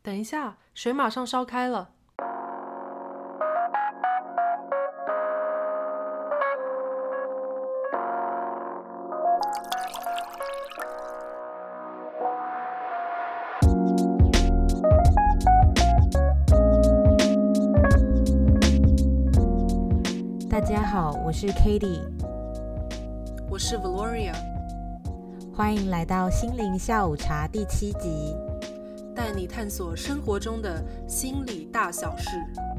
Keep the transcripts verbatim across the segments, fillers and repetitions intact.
等一下，水马上烧开了。 大家好，我是 Katie， 我是 Valoria， 欢迎来到心灵下午茶第七集， 带你探索生活中的心理大小事。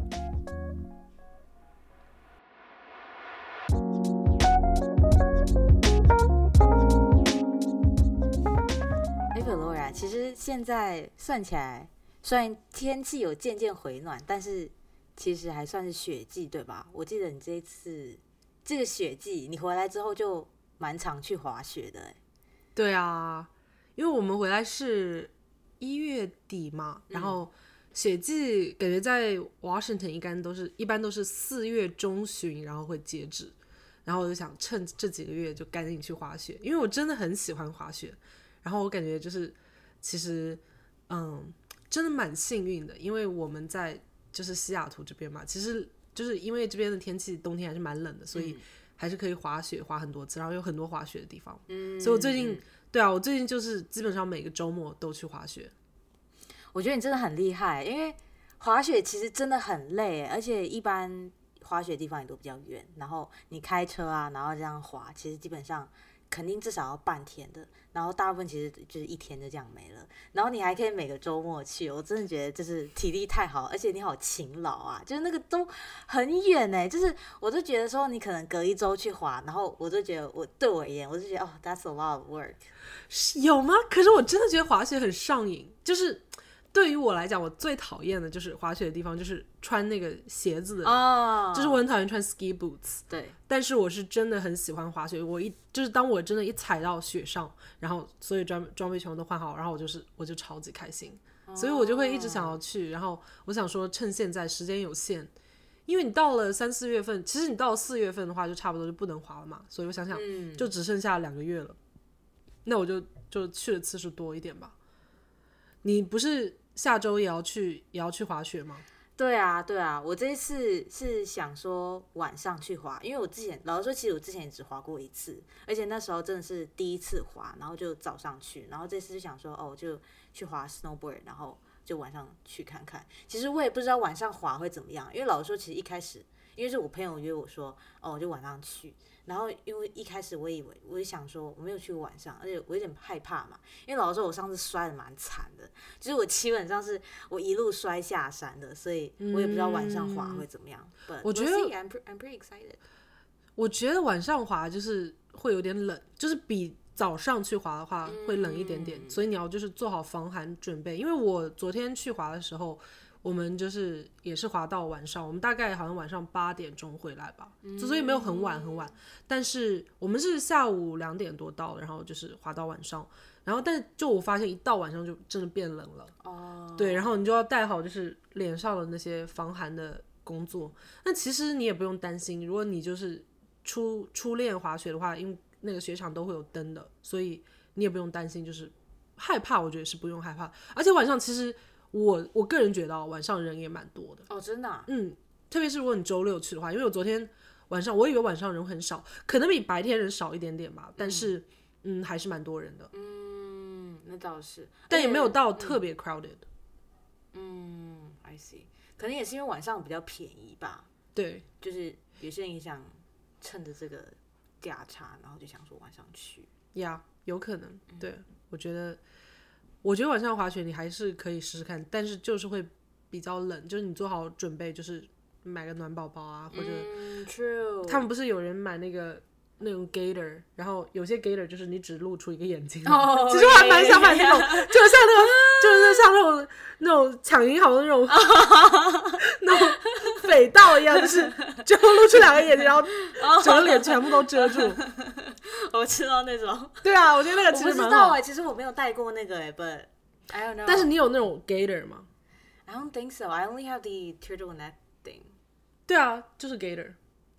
哎 Valoria， 其实现在算起来，虽然天气有渐渐回暖，但是其实还算是雪季，对吧？我记得你这一次这个雪季，你回来之后就蛮常去滑雪的。 对啊，因为我们回来是一月底嘛，然后雪季感觉在 Washington 一般都是一般都是四月中旬，然后会截止。然后我就想趁这几个月就赶紧去滑雪，因为我真的很喜欢滑雪。然后我感觉就是其实嗯真的蛮幸运的，因为我们在就是西雅图这边嘛，其实就是因为这边的天气冬天还是蛮冷的，所以还是可以滑雪滑很多次，然后有很多滑雪的地方。嗯，所以我最近、嗯、对啊，我最近就是基本上每个周末都去滑雪。 我觉得你真的很厉害，因为滑雪其实真的很累，而且一般滑雪的地方也都比较远，然后你开车啊，然后这样滑，其实基本上肯定至少要半天的，然后大部分其实就是一天就这样没了，然后你还可以每个周末去，我真的觉得就是体力太好，而且你好勤劳啊，就是那个都很远哎，就是我就觉得说你可能隔一周去滑，然后我就觉得我对我而言，我就觉得哦 ，that's a lot of work。 有吗？可是我真的觉得滑雪很上瘾，就是对于我来讲，我最讨厌的就是滑雪的地方，就是穿那个鞋子的，哦、就是我很讨厌穿 ski boots。 对， 但是我是真的很喜欢滑雪。我一就是当我真的一踩到雪上，然后所有装装备全部都换好，然后我就是我就超级开心，哦、所以我就会一直想要去。然后我想说，趁现在时间有限，因为你到了三四月份，其实你到了四月份的话，就差不多就不能滑了嘛。所以我想想，嗯、就只剩下两个月了，那我就就去的次数多一点吧。你不是下周也要去也要去滑雪吗？ 对啊对啊，我这一次是想说晚上去滑，因为我之前老实说，其实我之前也只滑过一次，而且那时候真的是第一次滑，然后就早上去，然后这次就想说哦，就去滑 snowboard， 然后就晚上去看看。其实我也不知道晚上滑会怎么样，因为老实说，其实一开始因为是我朋友约我说哦，我就晚上去。然后因为一开始我以为，我就想说我没有去过晚上，而且我有点害怕嘛，因为老实说我上次摔得蛮惨的，就是我基本上是我一路摔下山的，所以我也不知道晚上滑会怎么样。嗯、 我觉得 we'll I'm, I'm pretty excited。 我觉得晚上滑就是会有点冷，就是比早上去滑的话会冷一点点，嗯、所以你要就是做好防寒准备。因为我昨天去滑的时候，我们就是也是滑到晚上，我们大概好像晚上八点钟回来吧，嗯、所以没有很晚很晚，但是我们是下午两点多到，然后就是滑到晚上，然后但就我发现一到晚上就真的变冷了，哦，对，然后你就要带好就是脸上的那些防寒的工作。那其实你也不用担心，如果你就是初初练滑雪的话，因为那个雪场都会有灯的，所以你也不用担心，就是害怕，我觉得是不用害怕，而且晚上其实。我我个人觉得晚上人也蛮多的哦，真的、啊， 嗯，特别是如果你周六去的话，因为我昨天晚上我以为晚上人很少，可能比白天人少一点点吧，但是 嗯, 嗯还是蛮多人的， 嗯，那倒是， 但也没有到特别 crowded， 嗯, 嗯 I see， 可能也是因为晚上比较便宜吧， 对， 就是有些人也想趁着这个价差，然后就想说晚上去， 呀、yeah, 有可能，对，我觉得。我觉得晚上滑雪你还是可以试试看，但是就是会比较冷，就是你做好准备，就是买个暖宝宝啊，或者、 嗯、true， 他们不是有人买那个那种 gator， 然后有些 gator 就是你只露出一个眼睛， 哦、 其实我还蛮想买那种，就是像那种，就是像那种那种抢银行的那种那种匪盗一样，就是就露出两个眼睛，然后整个脸全部都遮住。 我知道那种， 对啊，我觉得那个其实蛮好。 我不知道哎、欸，其实我没有戴过那个哎、欸、，but I don't know。 但是你有那种 gator 吗 ？I don't think so. I only have the turtleneck thing。 对啊，就是 gator。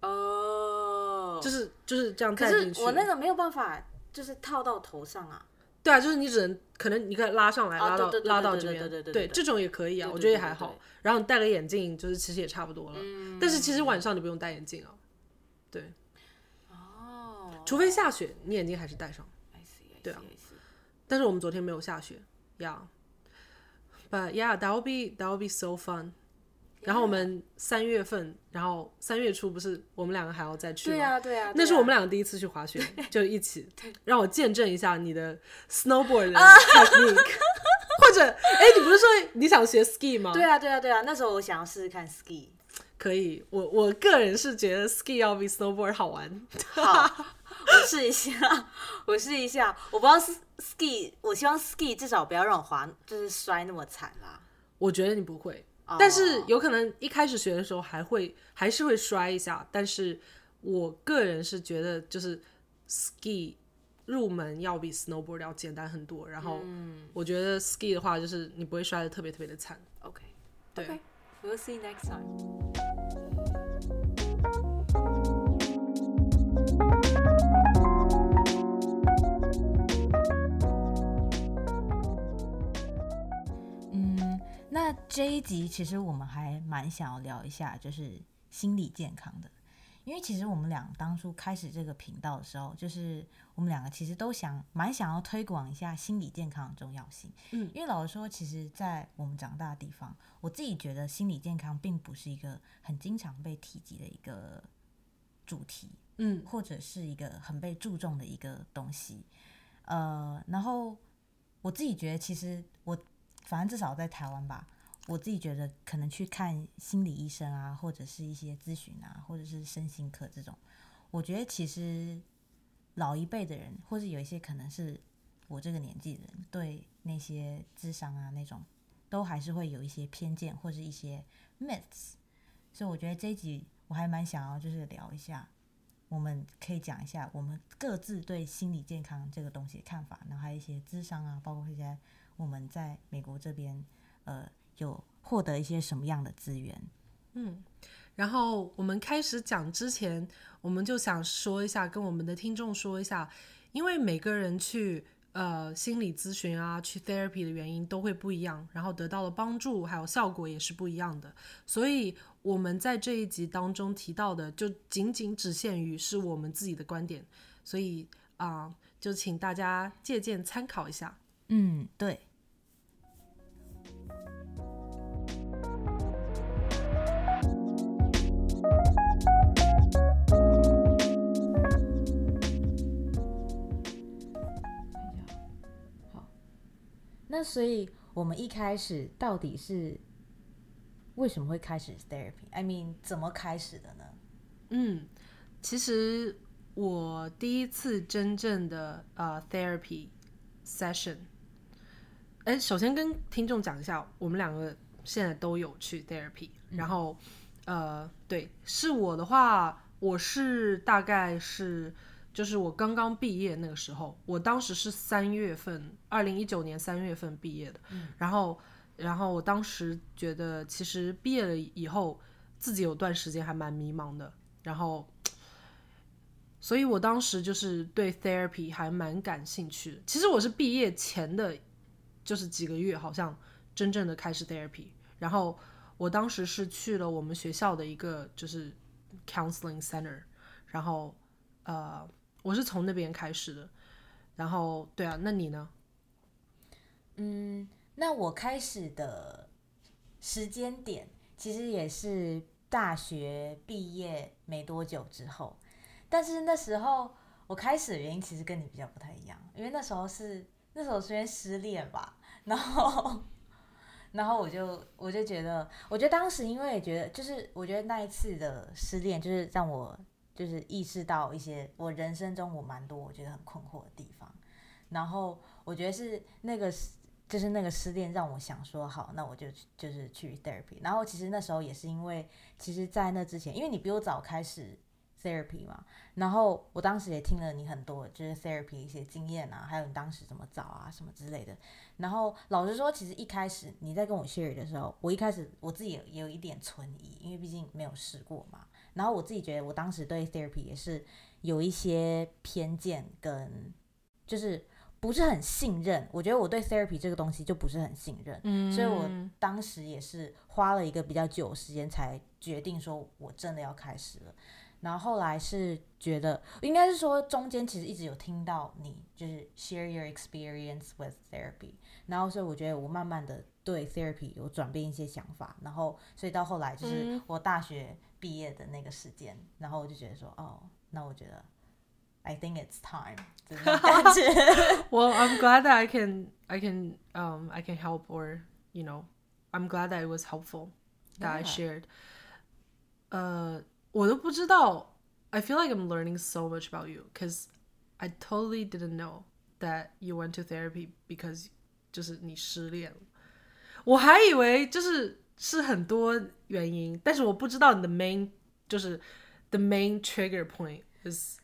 哦、oh ， 就是就是这样戴进去。 可是我那个没有办法，就是套到头上啊。 对啊，就是你只能可能你可以拉上来， 啊拉到对对对拉到这边， 对对对对对对这种也可以啊， 对对我觉得也还好。 对对对然后你戴个眼镜，就是其实也差不多了。 嗯但是其实晚上你不用戴眼镜啊，对， 哦， 除非下雪，你眼镜还是戴上。 I see, I see, 对啊 I see. 但是我们昨天没有下雪，Yeah, but yeah, that will be that will be so fun. 然后我们三月份，然后三月初不是我们两个还要再去吗？ 对啊对啊，对啊那是我们两个第一次去滑雪，就一起让我见证一下你的 snowboard 的 technique。或者，哎，你不是说你想学 ski 吗？ 对啊对啊对啊，那时候我想要试试看 ski。 可以，我我个人是觉得 ski 要比 snowboard 好玩。 好，我试一下，我试一下。我不知道 ski， 我希望 ski 至少不要让我滑，就是摔那么惨啦。 我觉得你不会。 哦但是有可能一开始学的时候还会还是会摔一下，但是我个人是觉得就是 ski 入门要比 snowboard 要简单很多，然后我觉得 ski 的话就是你不会摔得特别特别的惨。 OK， 对 okay. We'll see next time. 嗯，那这一集其实我们还蛮想要聊一下，就是心理健康的，因为其实我们俩当初开始这个频道的时候，就是我们两个其实都想蛮想要推广一下心理健康的重要性。 嗯， 因为老实说，其实，在我们长大的地方，我自己觉得心理健康并不是一个很经常被提及的一个主题， 嗯， 或者是一个很被注重的一个东西。呃，然后我自己觉得，其实我反正至少在台湾吧，我自己觉得可能去看心理医生啊，或者是一些咨询啊，或者是身心科这种，我觉得其实老一辈的人，或者有一些可能是我这个年纪的人，对那些諮商啊那种，都还是会有一些偏见或是一些 myths。所以我觉得这一集我还蛮想要就是聊一下，我们可以讲一下我们各自对心理健康这个东西的看法，然后还有一些諮商啊，包括一些我们在美国这边呃有获得一些什么样的资源。 嗯，然后我们开始讲之前，我们就想说一下，跟我们的听众说一下，因为每个人去呃心理咨询啊，去 therapy 的原因都会不一样，然后得到的帮助还有效果也是不一样的，所以我们在这一集当中提到的，就仅仅只限于是我们自己的观点，所以啊、呃，就请大家借鉴参考一下。 嗯，对。那所以我们一开始到底是为什么会开始 therapy? I mean 怎么开始的呢？ 嗯，其实我第一次真正的呃 therapy session， 哎，首先跟听众讲一下，我们两个现在都有去 therapy，、嗯、然后呃，对，是我的话，我是大概是。就是我刚刚毕业那个时候，我当时是三月份，二零一九年三月份毕业的。嗯、然后，然后我当时觉得，其实毕业了以后，自己有段时间还蛮迷茫的。然后，所以我当时就是对 therapy 还蛮感兴趣的。其实我是毕业前的，就是几个月，好像真正的开始 therapy。然后我当时是去了我们学校的一个就是 counseling center， 然后呃。我是从那边开始的，然后对啊，那你呢？ 嗯，那我开始的时间点其实也是大学毕业没多久之后，但是那时候我开始的原因其实跟你比较不太一样，因为那时候是那时候是因为失恋吧，然后然后我就我就觉得，我觉得当时因为也觉得，就是我觉得那一次的失恋，就是让我。就是意识到一些我人生中我蛮多我觉得很困惑的地方，然后我觉得是那个就是那个失恋让我想说好，那我就就是去 therapy。然后其实那时候也是因为，其实在那之前，因为你比我早开始 therapy 嘛，然后我当时也听了你很多就是 therapy 一些经验啊，还有你当时怎么找啊什么之类的。然后老实说，其实一开始你在跟我 share 的时候，我一开始我自己也有一点存疑，因为毕竟没有试过嘛。然后我自己觉得，我当时对 therapy 也是有一些偏见，跟就是不是很信任，我觉得我对 therapy 这个东西就不是很信任，嗯，所以我当时也是花了一个比较久的时间才决定说我真的要开始了。然后后来是觉得，应该是说中间其实一直有听到你就是 share your experience with therapy， 然后所以我觉得我慢慢的对 therapy 有转变一些想法，然后所以到后来就是我大学毕业的那个时间，嗯、然后我就觉得说，哦，那我觉得 I think it's time 这种感觉。 Well, I'm glad that I can, I can, um, I can help, or you know, I'm glad that it was helpful that I Yeah. shared. 呃，我都不知道。I feel like I'm learning so much about you because I totally didn't know that you went to therapy because 就是你失恋了。我还以为就是是很多原因，但是我不知道你的 main 就是 the main trigger point is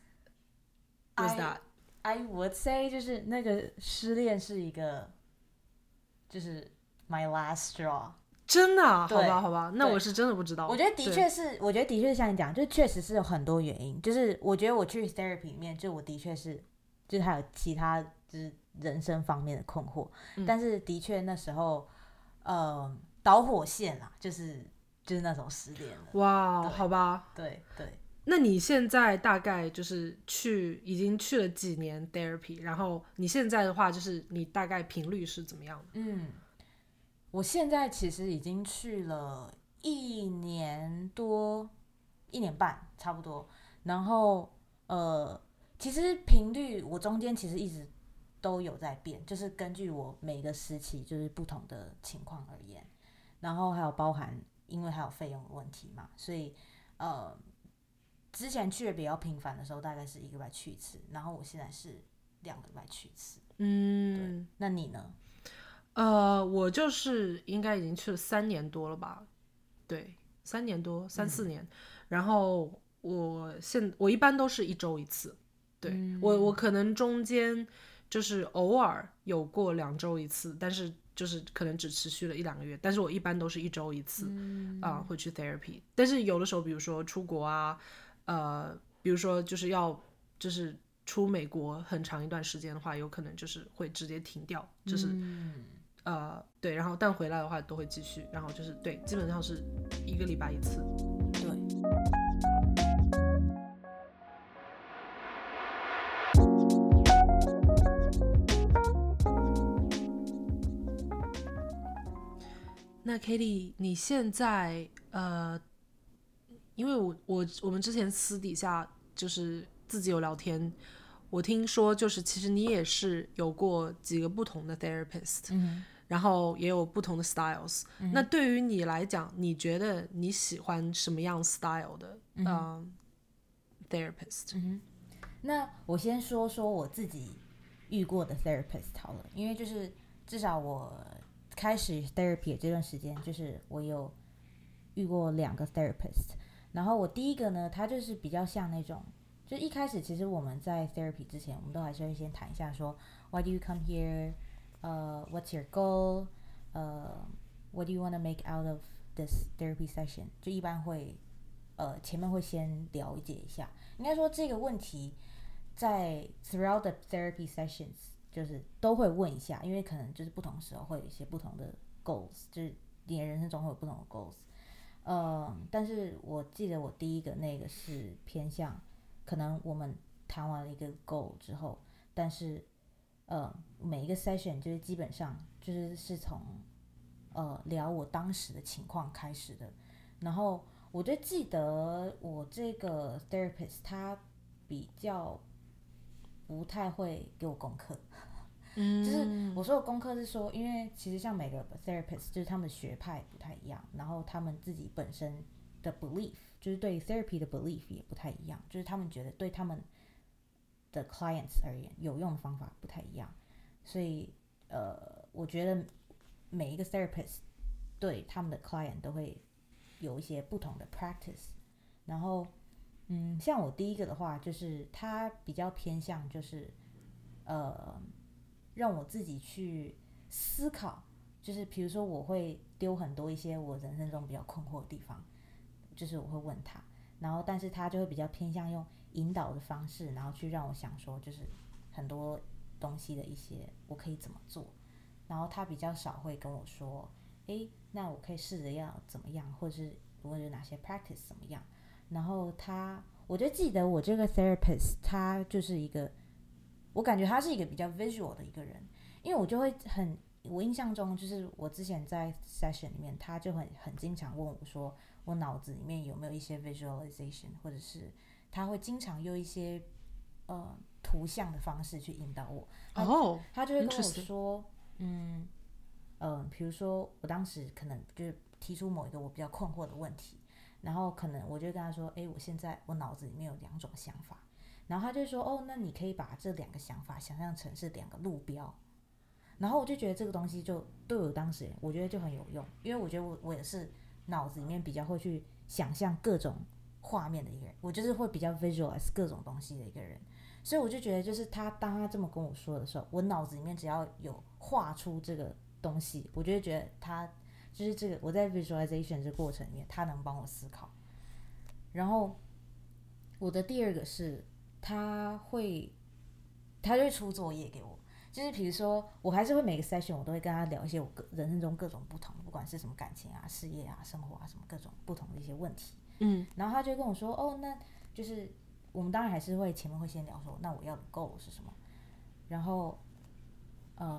was that. I would say 就是那个失恋是一个就是 my last straw。 真的、啊、好吧好吧，那我是真的不知道。 我觉得的确是，我觉得的确是像你讲，就确实是有很多原因。就是我觉得我去 therapy 里面，就我的确是，就是还有其他就是人生方面的困惑，嗯、但是的确那时候，呃，导火线啦，就是就是那种失恋了。 哇，好吧， 对对。 那你现在大概就是去已经去了几年 therapy， 然后你现在的话，就是你大概频率是怎么样的？ 嗯。我现在其实已经去了一年多，一年半差不多。然后呃，其实频率我中间其实一直都有在变，就是根据我每个时期就是不同的情况而言。然后还有包含，因为还有费用的问题嘛，所以呃，之前去的比较频繁的时候，大概是一个礼拜去一次，然后我现在是两个礼拜去一次。嗯，对。那你呢？ 呃，我就是应该已经去了三年多了吧，对，三年多，三四年。嗯、然后我现我一般都是一周一次，对、嗯、我我可能中间就是偶尔有过两周一次，但是就是可能只持续了一两个月。但是我一般都是一周一次，嗯、呃，会去 therapy。但是有的时候，比如说出国啊，呃，比如说就是要就是出美国很长一段时间的话，有可能就是会直接停掉，就是。嗯呃，对，然后但回来的话都会继续，然后就是对，基本上是一个礼拜一次。 对。 那 Katie， 你现在呃，因为我我我们之前私底下就是自己有聊天。我听说就是其实你也是有过几个不同的 therapist，、嗯、然后也有不同的 styles、嗯、那对于你来讲，你觉得你喜欢什么样 style 的、嗯呃、therapist、 嗯、那我先说说我自己遇过的 therapist 好了，因为就是至少我开始 therapy 的这段时间，就是我有遇过两个 therapist。然后我第一个呢，他就是比较像那种就一开始其实我们在 therapy 之前，我们都还是会先谈一下说 Why do you come here? Uh, what's your goal? Uh, what do you want to make out of this therapy session? 就一般会呃前面会先了解一下。应该说这个问题在 throughout the therapy sessions 就是都会问一下，因为可能就是不同时候会有一些不同的 goals， 就是你的人生中会有不同的 goals。呃，但是我记得我第一个那个是偏向。可能我们谈完了一个 goal 之后，但是呃每一个 session 就是基本上就是是从呃聊我当时的情况开始的。然后我就记得我这个 therapist 他比较不太会给我功课，嗯，就是我说的功课是说，因为其实像每个 therapist 就是他们的学派不太一样，然后他们自己本身的 belief。就是对 therapy 的 belief 也不太一样，就是他们觉得对他们的 clients 而言有用的方法不太一样，所以呃，我觉得每一个 therapist 对他们的 client 都会有一些不同的 practice。然后嗯，像我第一个的话，就是他比较偏向就是呃，让我自己去思考，就是比如说我会丢很多一些我人生中比较困惑的地方。就是我会问他，然后但是他就会比较偏向用引导的方式，然后去让我想说，就是很多东西的一些我可以怎么做，然后他比较少会跟我说，诶，那我可以试着要怎么样，或者是我有哪些 practice 怎么样。然后他，我就记得我这个 therapist 他就是一个，我感觉他是一个比较 visual 的一个人，因为我就会很，我印象中就是我之前在 session 里面，他就很很经常问我说，我脑子里面有没有一些 visualization， 或者是他会经常用一些呃图像的方式去引导我。他, oh, 他就会跟我说，嗯嗯、呃，比如说我当时可能就是提出某一个我比较困惑的问题。然后可能我就跟他说，哎，我现在我脑子里面有两种想法，然后他就说，哦，那你可以把这两个想法想象成是两个路标，然后我就觉得这个东西就对我当时我觉得就很有用，因为我觉得我我也是脑子里面比较会去想象各种画面的一个人，我就是会比较 visualize 各种东西的一个人，所以我就觉得就是他当他这么跟我说的时候，我脑子里面只要有画出这个东西，我就会觉得他就是这个我在 visualization 这个过程里面，他能帮我思考。然后我的第二个是，他会他就会出作业给我，就是比如说我还是会每个 session 我都会跟他聊一些我人生中各种不同，不管是什么感情啊、事业啊、生活啊什么各种不同的一些问题。 嗯， 然后他就会跟我说，哦，那就是我们当然还是会前面会先聊说，那我要的 goal 是什么，然后呃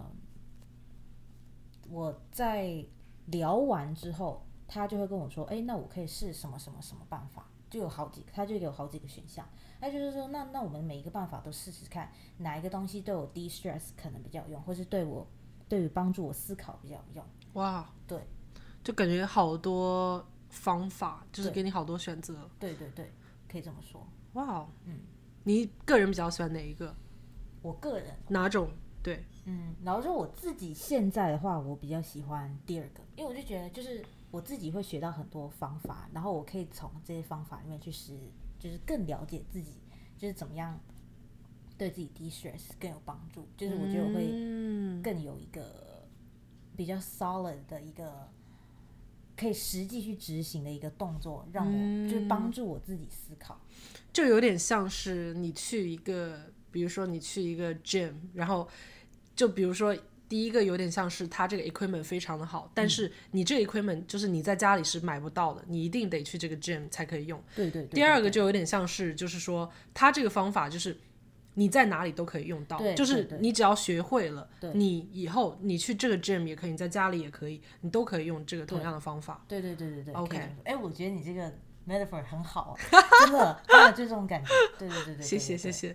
我在聊完之后，他就会跟我说，哎，那我可以试什么什么什么办法，就有好几个，他就有好几个选项。他就是说，那那我们每一个办法都试试看，哪一个东西对我 de-stress 可能比较有用，或是对我对于帮助我思考比较有用。 哇， 对， 就感觉好多方法，就是给你好多选择。 对对对，可以这么说。 哇， 嗯， 你个人比较喜欢哪一个？ 我个人哪种？对， 嗯，然后说我自己现在的话，我比较喜欢第二个，因为我就觉得就是我自己会学到很多方法，然后我可以从这些方法里面去实，就是更了解自己，就是怎么样对自己 de-stress 更有帮助。就是我觉得我会更有一个比较 solid 的一个可以实际去执行的一个动作，让我就是帮助我自己思考。 就有点像是你去一个，比如说你去一个 gym， 然后就比如说第一个有点像是它这个 equipment 非常的好，但是你这个 equipment 就是你在家里是买不到的，你一定得去这个 gym 才可以用。 对对 对, 对, 对。 第二个就有点像是就是说它这个方法就是你在哪里都可以用到， 对就是你只要学会了， 对你以后你去这个 gym 也可以，你在家里也可以，你都可以用这个同样的方法。 对对对对对 OK， 哎，我觉得你这个 metaphor 很好，真的，真的就这种感觉。对对对对， 谢谢谢谢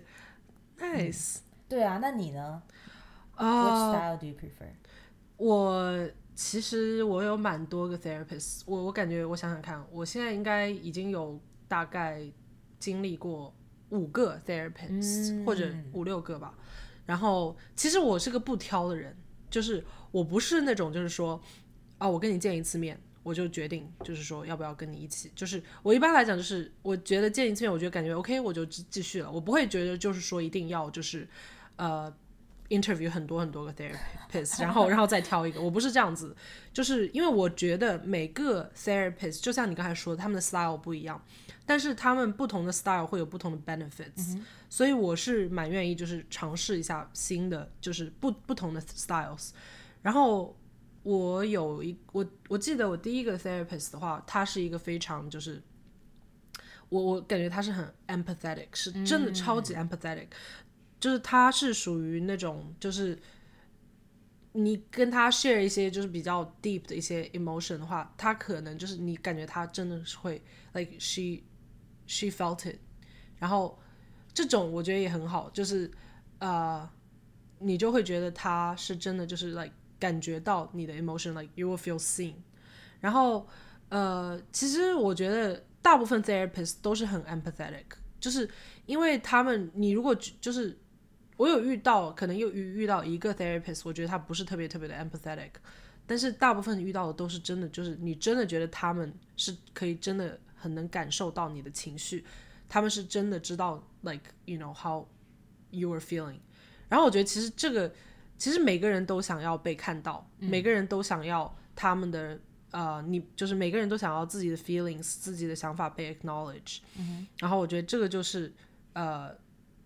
，nice、嗯。 对啊，那你呢、 uh, ？Which style do you prefer？ 我其实我有蛮多个 therapist， 我我感觉我想想看，我现在应该已经有大概经历过五个 therapist、嗯、或者五六个吧。然后其实我是个不挑的人，就是我不是那种就是说啊，我跟你见一次面我就决定就是说要不要跟你一起，就是我一般来讲就是我觉得见一次面我觉得感觉 OK 我就继续了，我不会觉得就是说一定要就是呃 interview 很多很多个 therapist 然后然后再挑一个，我不是这样子，就是因为我觉得每个 therapist 就像你刚才说的他们的 style 不一样，但是他们不同的 style 会有不同的 benefits、嗯、所以我是蛮愿意就是尝试一下新的就是不不同的 styles。然后我有一我我记得我第一个 therapist 的话，他是一个非常就是我我感觉他是很 empathetic， 是真的超级 empathetic、嗯、就是他是属于那种就是你跟他 share 一些就是比较 deep 的一些 emotion 的话，他可能就是你感觉他真的是会 like she she felt it， 然后这种我觉得也很好，就是呃你就会觉得他是真的就是 like感觉到你的 emotion like you will feel seen。 然后呃其实我觉得大部分 therapist 都是很 empathetic， 就是因为他们你如果就是我有遇到可能又遇到一个 therapist 我觉得他不是特别特别的 empathetic， 但是大部分遇到的都是真的就是你真的觉得他们是可以真的很能感受到你的情绪，他们是真的知道 like you know how you are feeling。 然后我觉得其实这个其实每个人都想要被看到、嗯、每个人都想要他们的呃，你就是每个人都想要自己的 feelings 自己的想法被 acknowledge、嗯、然后我觉得这个就是呃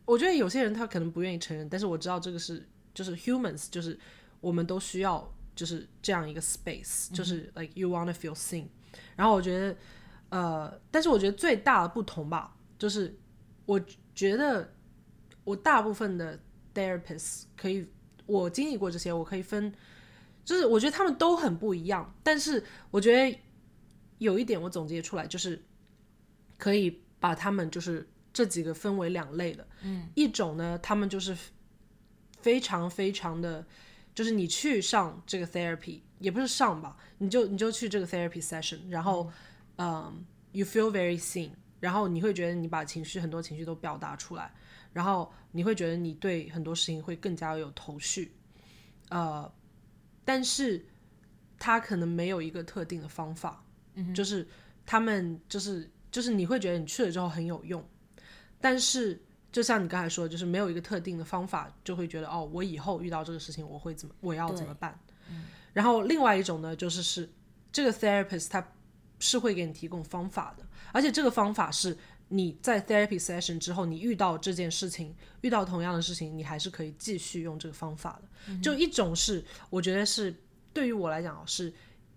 我觉得有些人他可能不愿意承认，但是我知道这个是就是 humans， 就是我们都需要就是这样一个 space，、嗯、就是 like you wanna feel seen。然后我觉得呃，但是我觉得最大的不同吧，就是我觉得我大部分的 therapists 可以，我经历过这些，我可以分，就是我觉得他们都很不一样，但是我觉得有一点我总结出来，就是可以把他们就是这几个分为两类的，嗯，一种呢，他们就是非常非常的，就是你去上这个 therapy， 也不是上吧，你就你就去这个 therapy session， 然后，嗯、um, ，you feel very seen， 然后你会觉得你把情绪很多情绪都表达出来，然后你会觉得你对很多事情会更加有头绪，呃，但是他可能没有一个特定的方法，嗯、就是他们就是就是你会觉得你去了之后很有用，但是就像你刚才说的，就是没有一个特定的方法，就会觉得哦，我以后遇到这个事情我会怎么，我要怎么办？嗯、然后另外一种呢，就是是这个 therapist 他是会给你提供方法的，而且这个方法是你在 therapy session 之后，你遇到这件事情，遇到同样的事情，你还是可以继续用这个方法的。嗯、就一种是我觉得是对于我来讲是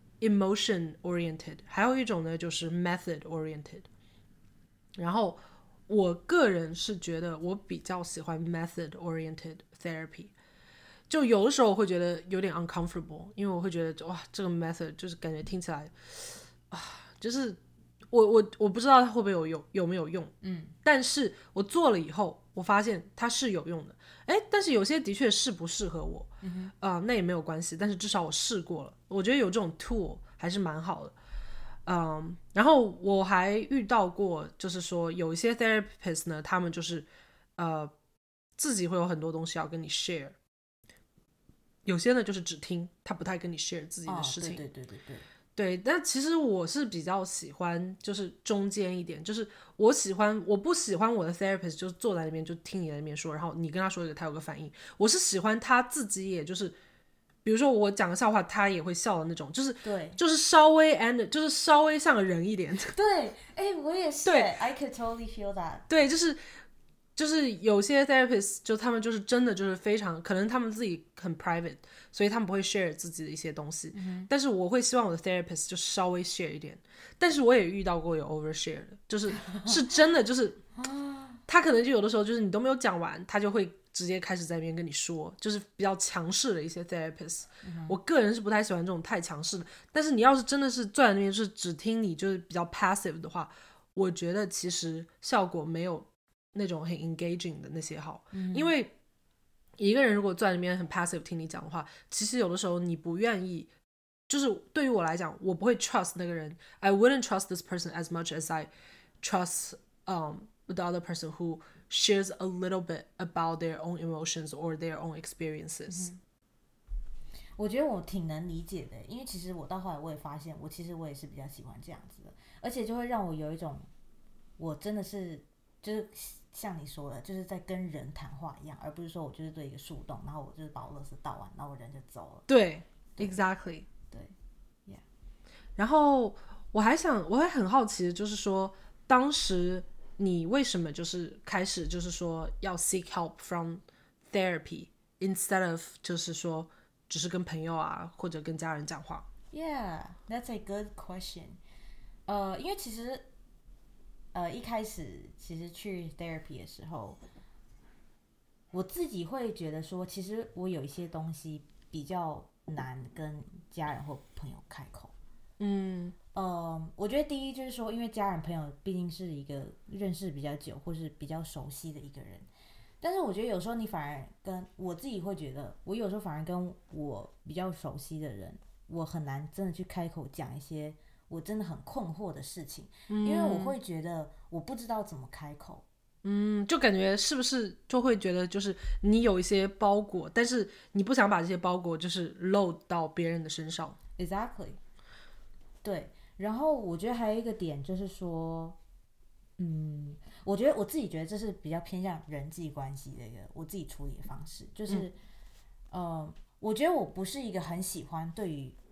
emotion oriented， 还有一种呢就是 method oriented。然后我个人是觉得我比较喜欢 method oriented therapy， 就有的时候我会觉得有点 uncomfortable， 因为我会觉得哇，这个 method 就是感觉听起来啊，就是我我我不知道它会不会有有有没有用，嗯，但是我做了以后，我发现它是有用的，哎，但是有些的确是不适合我，嗯啊、呃，那也没有关系，但是至少我试过了，我觉得有这种 tool 还是蛮好的。嗯，然后我还遇到过，就是说有一些 therapist 呢，他们就是呃自己会有很多东西要跟你 share， 有些呢就是只听，他不太跟你 share 自己的事情。 哦、对对对对对。 对，但其实我是比较喜欢就是中间一点，就是我喜欢我不喜欢我的 therapist 就是坐在那边就听你在那边说，然后你跟他说一个他有个反应，我是喜欢他自己也就是比如说我讲个笑话他也会笑的那种，就是对， 就是稍微 and 就是稍微像个人一点。 对，哎，我也是，对 I could totally feel that。 对，就是就是有些 therapist 就他们就是真的就是非常可能他们自己很 private， 所以他们不会 share 自己的一些东西，嗯、但是我会希望我的 therapist 就稍微 share 一点，但是我也遇到过有 overshare 的，就是是真的就是他可能就有的时候就是你都没有讲完，他就会直接开始在那边跟你说，就是比较强势的一些 therapist、嗯、我个人是不太喜欢这种太强势的，但是你要是真的是坐在那边就是只听你就是比较 passive 的话，我觉得其实效果没有那种很 engaging 的那些好、嗯、因为一个人如果坐在那边很 passive 听你讲的话，其实有的时候你不愿意，就是对于我来讲我不会 trust 那个人， I wouldn't trust this person as much as I trust um, the other person who shares a little bit about their own emotions or their own experiences、嗯、 我觉得我挺能理解的，因为其实我到后来我也发现我其实我也是比较喜欢这样子的，而且就会让我有一种我真的是就是像你说的就是在跟人谈话一样，而不是说我就是对一个树洞，然后我就是把我垃圾倒完然后我人就走了。 对，对 exactly 对 yeah。 然后我还想我还很好奇，就是说当时你为什么就是开始就是说要 seek help from therapy instead of 就是说只是跟朋友啊或者跟家人讲话？ Yeah, that's a good question。 呃，因为其实呃一开始其实去 therapy 的时候，我自己会觉得说其实我有一些东西比较难跟家人或朋友开口。嗯，呃，我觉得第一就是说，因为家人朋友毕竟是一个认识比较久或是比较熟悉的一个人，但是我觉得有时候你反而跟我自己会觉得，我有时候反而跟我比较熟悉的人，我很难真的去开口讲一些我真的很困惑的事情、嗯、因为我会觉得我不知道怎么开口。 嗯，就感觉是不是就会觉得就是你有一些包裹，但是你不想把这些包裹就是 load 到别人的身上。 Exactly。 对，然后我觉得还有一个点就是说，嗯，我觉得我自己觉得这是比较偏向人际关系的一个我自己处理的方式，就是、嗯、呃，我觉得我不是一个很喜欢对于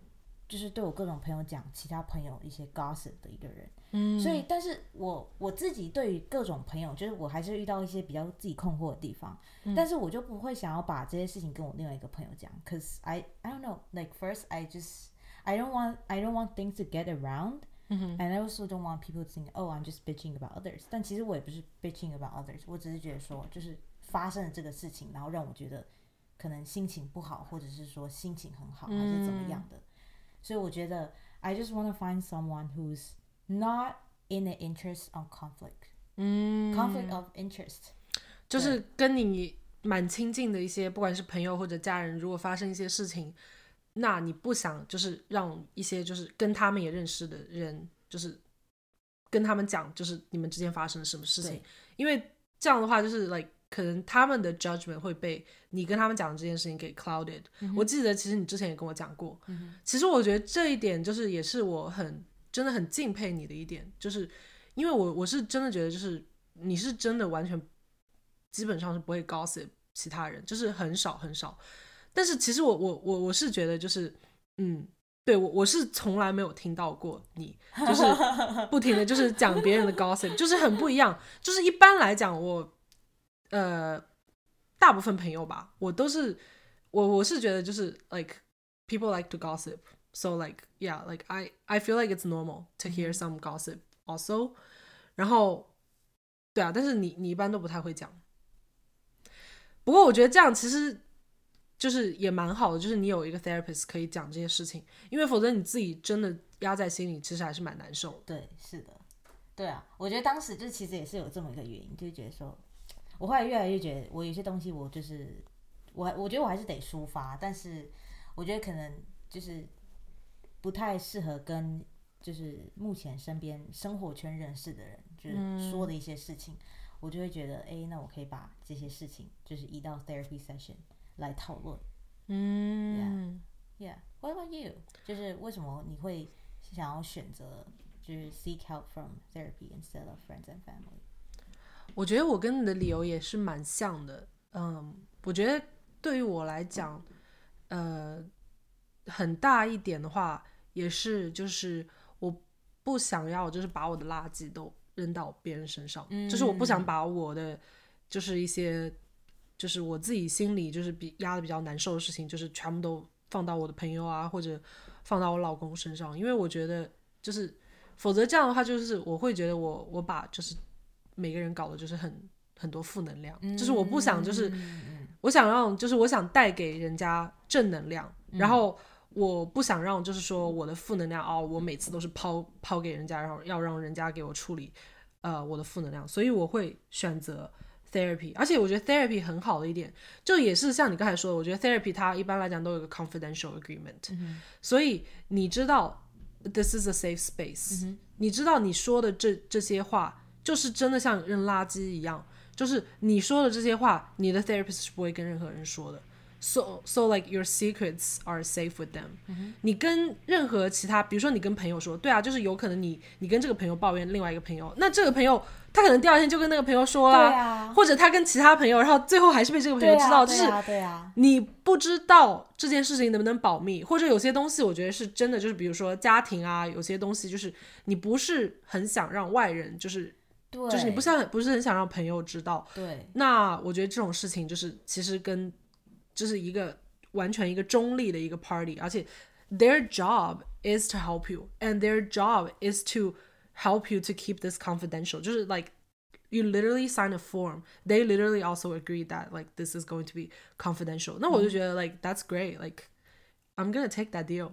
就是对我各种朋友讲其他朋友一些 gossip 的一个人， 嗯， 所以但是我我自己对于各种朋友，就是我还是遇到一些比较自己困惑的地方，嗯、但是我就不会想要把这些事情跟我另外一个朋友讲 ，cause I I don't know, like first I just I don't want I don't want things to get around. And I also don't want people to think, oh, I'm just bitching about others. 但其实我也不是 bitching about others， 我只是觉得说，就是发生了这个事情，然后让我觉得可能心情不好，或者是说心情很好，还是怎么样的。所以我觉得 I just want to find someone who's not in the interest of conflict. 嗯 conflict of interest. 就是跟你蛮亲近的一些，不管是朋友或者家人，如果发生一些事情。那你不想就是让一些就是跟他们也认识的人，就是跟他们讲就是你们之间发生了什么事情，因为这样的话就是 like 可能他们的 judgment 会被你跟他们讲的这件事情给 clouded、嗯、我记得其实你之前也跟我讲过、嗯、其实我觉得这一点就是也是我很真的很敬佩你的一点，就是因为我我是真的觉得就是你是真的完全基本上是不会 gossip 其他人，就是很少很少。但是其实我我我我是觉得就是嗯，对我我是从来没有听到过你就是不停的就是讲别人的 gossip， 就是很不一样。就是一般来讲我呃大部分朋友吧，我都是我我是觉得就是 like people like to gossip, so like yeah like I I feel like it's normal to hear some gossip also。然后对啊，但是你你一般都不太会讲。不过我觉得这样其实。就是也蛮好的，就是你有一个 therapist 可以讲这些事情，因为否则你自己真的压在心里，其实还是蛮难受。 对，是的，对啊，我觉得当时就其实也是有这么一个原因，就觉得说，我后来越来越觉得，我有些东西我就是我，我觉得我还是得抒发，但是我觉得可能就是不太适合跟就是目前身边生活圈认识的人，就是说的一些事情，嗯、我就会觉得，哎，那我可以把这些事情就是移到 therapy session。来讨论， 嗯 ，Yeah, yeah. What about you？ 就是为什么你会想要选择就是 seek help from therapy instead of friends and family？ 我觉得我跟你的理由也是蛮像的，嗯，我觉得对于我来讲，呃，很大一点的话，也是就是我不想要就是把我的垃圾都扔到别人身上，嗯、就是我不想把我的就是一些。就是我自己心里就是比压的比较难受的事情，就是全部都放到我的朋友啊，或者放到我老公身上，因为我觉得就是否则这样的话，就是我会觉得我我把就是每个人搞的就是很很多负能量，嗯、就是我不想就是、嗯、我想让就是我想带给人家正能量，嗯、然后我不想让就是说我的负能量哦，我每次都是抛抛给人家，然后要让人家给我处理呃我的负能量，所以我会选择。therapy， 而且我觉得 therapy 很好的一点，就也是像你刚才说的，我觉得 therapy 它一般来讲都有一个 confidential agreement，嗯、所以你知道 this is a safe space，嗯、你知道你说的这这些话就是真的像扔垃圾一样，就是你说的这些话，你的 therapist 是不会跟任何人说的。So, so like your secrets are safe with them、嗯、你跟任何其他比如说你跟朋友说，对啊，就是有可能你你跟这个朋友抱怨另外一个朋友，那这个朋友他可能第二天就跟那个朋友说了、 啊、 或者他跟其他朋友然后最后还是被这个朋友知道、 啊、就是你不知道这件事情能不能保密，或者有些东西我觉得是真的，就是比如说家庭啊，有些东西就是你不是很想让外人就是对就是你不是不是很想让朋友知道， 对， 那我觉得这种事情就是其实跟就是一个完全一个中立的一个 party， 而且 their job is to help you and their job is to help you to keep this confidential， 就是 like you literally sign a form, they literally also agree that like this is going to be confidential， 那我就觉得 like that's great, like I'm gonna take that deal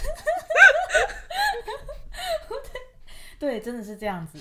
对，真的是这样子。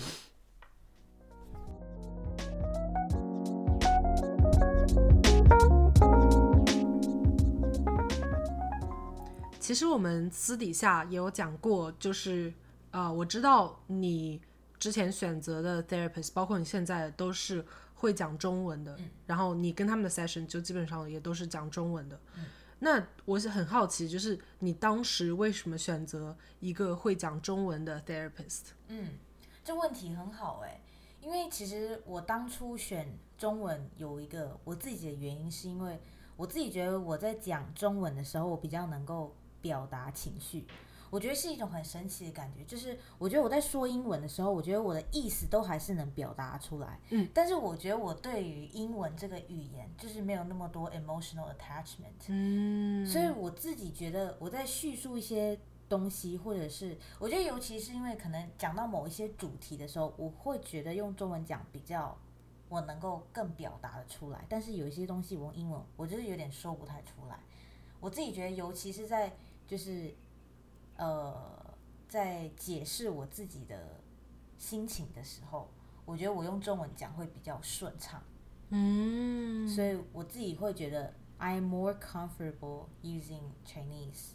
其实我们私底下也有讲过，就是呃，我知道你之前选择的 therapist， 包括你现在都是会讲中文的、嗯、然后你跟他们的 session 就基本上也都是讲中文的、嗯、那我是很好奇，就是你当时为什么选择一个会讲中文的 therapist？ 嗯，这问题很好哎、欸，因为其实我当初选中文有一个我自己的原因，是因为我自己觉得我在讲中文的时候，我比较能够表达情绪。 我觉得是一种很神奇的感觉，就是我觉得我在说英文的时候，我觉得我的意思都还是能表达出来， 嗯， 但是我觉得我对于英文这个语言就是没有那么多 emotional attachment， 嗯， 所以我自己觉得我在叙述一些东西，或者是我觉得尤其是因为可能讲到某一些主题的时候，我会觉得用中文讲比较我能够更表达的出来，但是有一些东西我用英文我就是有点说不太出来。我自己觉得尤其是在就是呃在解释我自己的心情的时候，我觉得我用中文讲会比较顺畅， 嗯， 所以我自己会觉得 I am more comfortable using Chinese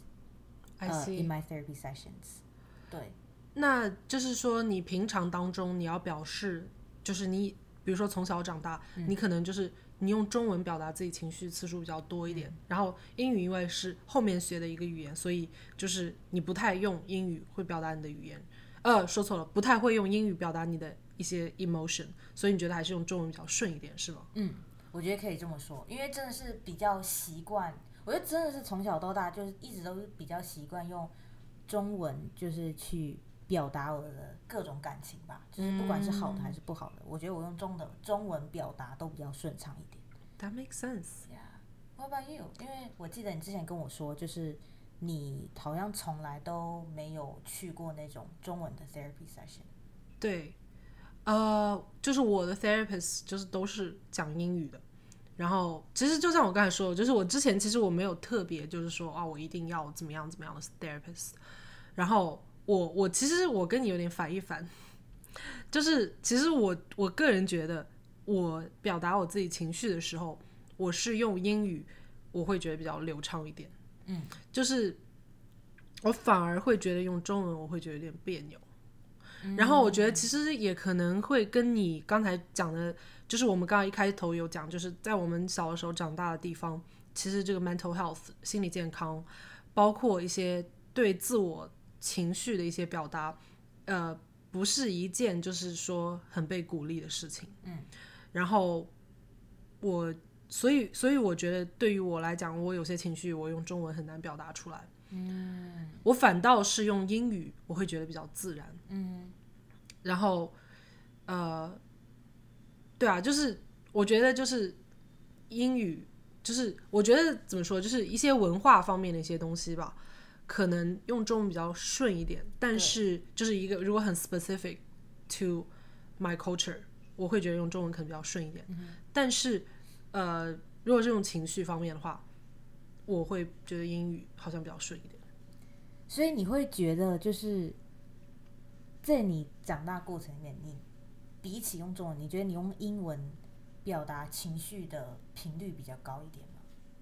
I 呃 see. in my therapy sessions。 对， 那就是说，你平常当中你要表示，就是你，比如说从小长大， 嗯、 你可能就是你用中文表达自己情绪次数比较多一点， 嗯、 然后英语因为是后面学的一个语言，所以就是你不太用英语会表达你的语言，呃，说错了，不太会用英语表达你的一些 emotion， 所以你觉得还是用中文比较顺一点，是吗？ 嗯，我觉得可以这么说，因为真的是比较习惯，我觉得真的是从小到大就是一直都是比较习惯用中文，就是去表达我的各种感情吧，就是不管是好的还是不好的，我觉得我用中的中文表达都比较顺畅一点。 That makes sense. Yeah. What about you? 因为我记得你之前跟我说，就是你好像从来都没有去过那种中文的 therapy session。 对，呃，就是我的 therapist 就是都是讲英语的。然后其实就像我刚才说的，就是我之前其实我没有特别就是说啊，我一定要怎么样怎么样的 therapist。然后我我其实我跟你有点反一反，就是其实我我个人觉得，我表达我自己情绪的时候，我是用英语，我会觉得比较流畅一点。 嗯， 就是我反而会觉得用中文我会觉得有点别扭。然后我觉得其实也可能会跟你刚才讲的，就是我们刚刚一开头有讲，就是在我们小的时候长大的地方，其实这个 mental health 心理健康，包括一些对自我情绪的一些表达，呃，不是一件就是说很被鼓励的事情。 嗯， 然后我所以所以我觉得对于我来讲，我有些情绪我用中文很难表达出来。 嗯， 我反倒是用英语，我会觉得比较自然。 嗯， 然后，呃，对啊，就是我觉得就是英语，就是我觉得怎么说，就是一些文化方面的一些东西吧，可能用中文比较顺一点。但是就是一个如果很 specific to my culture， 我会觉得用中文可能比较顺一点。 嗯、 但是，呃，如果这种情绪方面的话，我会觉得英语好像比较顺一点。 所以你会觉得就是在你长大过程里面，你比起用中文，你觉得你用英文表达情绪的频率比较高一点吗？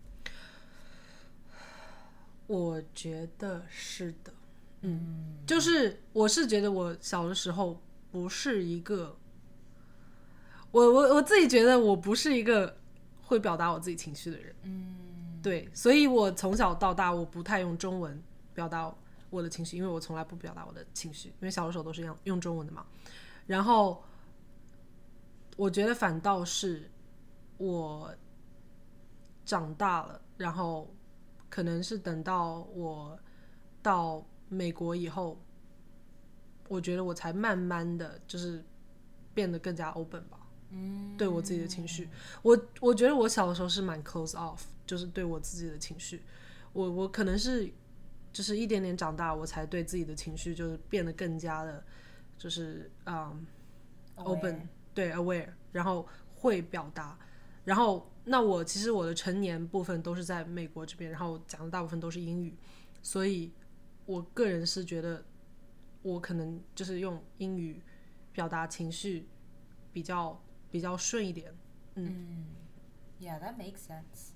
我觉得是的。嗯，嗯，就是我是觉得我小的时候不是一个，我我我自己觉得我不是一个会表达我自己情绪的人。 嗯， 对，所以我从小到大我不太用中文表达我的情绪，因为我从来不表达我的情绪，因为小的时候都是用用中文的嘛。然后我觉得反倒是我长大了，然后可能是等到我到美国以后，我觉得我才慢慢的就是变得更加 open 吧。 嗯， 对我自己的情绪，我我觉得我小的时候是蛮 close off， 就是对我自己的情绪，我我可能是就是一点点长大，我才对自己的情绪就是变得更加的，就是嗯、um, open， 对 aware， 然后会表达，然后那我其实我的成年部分都是在美国这边，然后讲的大部分都是英语，所以我个人是觉得我可能就是用英语表达情绪比较。比较顺一点。嗯, 嗯 Yeah, that makes sense.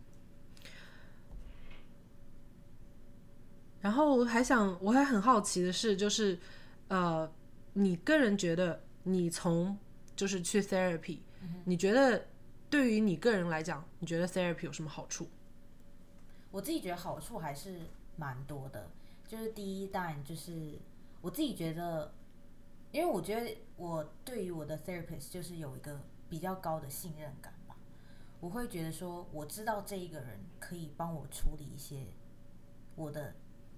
然后我还想，我还很好奇的是，就是呃，你个人觉得你从就是去 therapy，嗯，你觉得对于你个人来讲，你觉得 therapy 有什么好处？ 我自己觉得好处还是蛮多的。就是第一，当然就是我自己觉得。因为我觉得我对于我的 therapist 就是有一个比较高的信任感吧，我会觉得说我知道这一个人可以帮我处理一些我的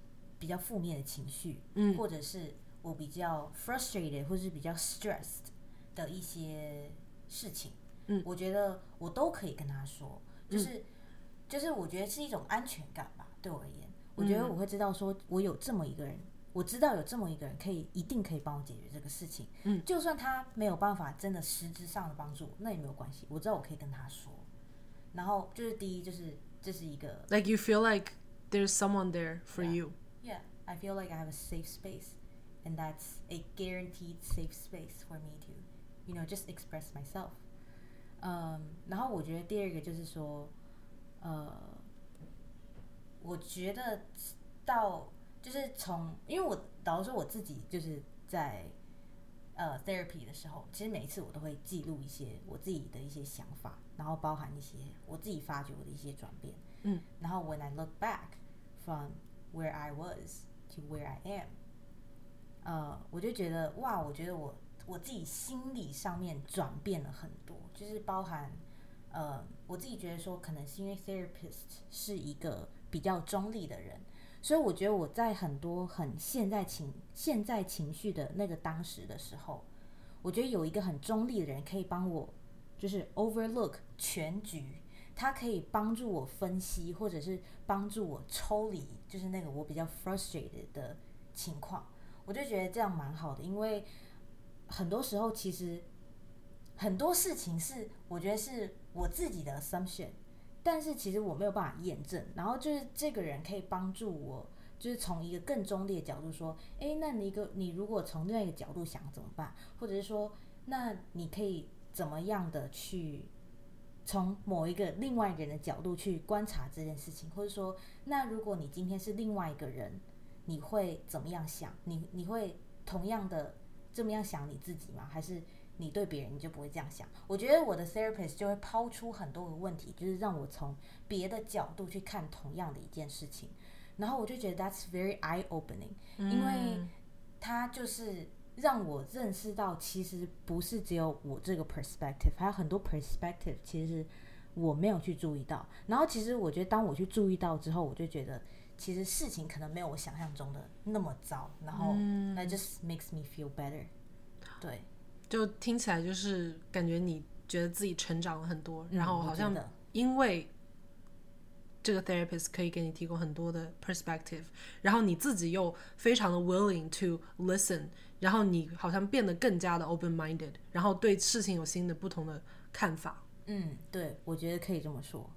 比较负面的情绪， 嗯， 或者是我比较 frustrated 或是比较 stressed 的一些事情， 嗯， 我觉得我都可以跟他说，就是、嗯、就是我觉得是一种安全感吧，对我而言，我觉得我会知道说我有这么一个人，我知道有这么一个人可以一定可以帮我解决这个事情， 嗯， 就算他没有办法真的实质上的帮助我，那也没有关系，我知道我可以跟他说。然后就是第一，就是这是一个 like you feel like there's someone there for yeah, you. Yeah, I feel like I have a safe space, and that's a guaranteed safe space for me to, you know, just express myself. 嗯、um, 然后我觉得第二个就是说，呃，我觉得到就是从，因为我老实说我自己就是在呃 therapy 的时候，其实每一次我都会记录一些我自己的一些想法，然后包含一些我自己发觉我的一些转变。 嗯， 然后 when I look back from where I was to where I am， 呃，我就觉得哇，我觉得我我自己心理上面转变了很多，就是包含呃，我自己觉得说，可能是因为 therapist 是一个比较中立的人。所以我觉得我在很多很现在情现在情绪的那个当时的时候，我觉得有一个很中立的人可以帮我，就是 overlook 全局，他可以帮助我分析，或者是帮助我抽离，就是那个我比较 frustrated 的情况，我就觉得这样蛮好的，因为很多时候其实很多事情是我觉得是我自己的 assumption。但是其实我没有办法验证，然后就是这个人可以帮助我，就是从一个更中立的角度说，哎，那你一个你如果从另外一个角度想怎么办？或者是说，那你可以怎么样的去从某一个另外一个人的角度去观察这件事情？或者说，那如果你今天是另外一个人，你会怎么样想？你你会同样的这么样想你自己吗？还是你对别人你就不会这样想？我觉得我的 therapist 就会抛出很多个问题，就是让我从别的角度去看同样的一件事情，然后我就觉得 that's very eye opening，嗯，因为他就是让我认识到其实不是只有我这个 perspective， 还有很多 perspective 其实我没有去注意到，然后其实我觉得当我去注意到之后，我就觉得其实事情可能没有我想象中的那么糟，然后 that just makes me feel better。 对， 就听起来就是感觉你觉得自己成长了很多，嗯，然后好像因为这个 therapist 可以给你提供很多的 perspective， 然后你自己又非常的 willing to listen， 然后你好像变得更加的 open minded， 然后对事情有新的不同的看法。 嗯，对，我觉得可以这么说。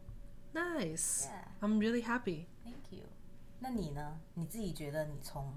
Nice， yeah. I'm really happy. Thank you。 那你呢？你自己觉得你从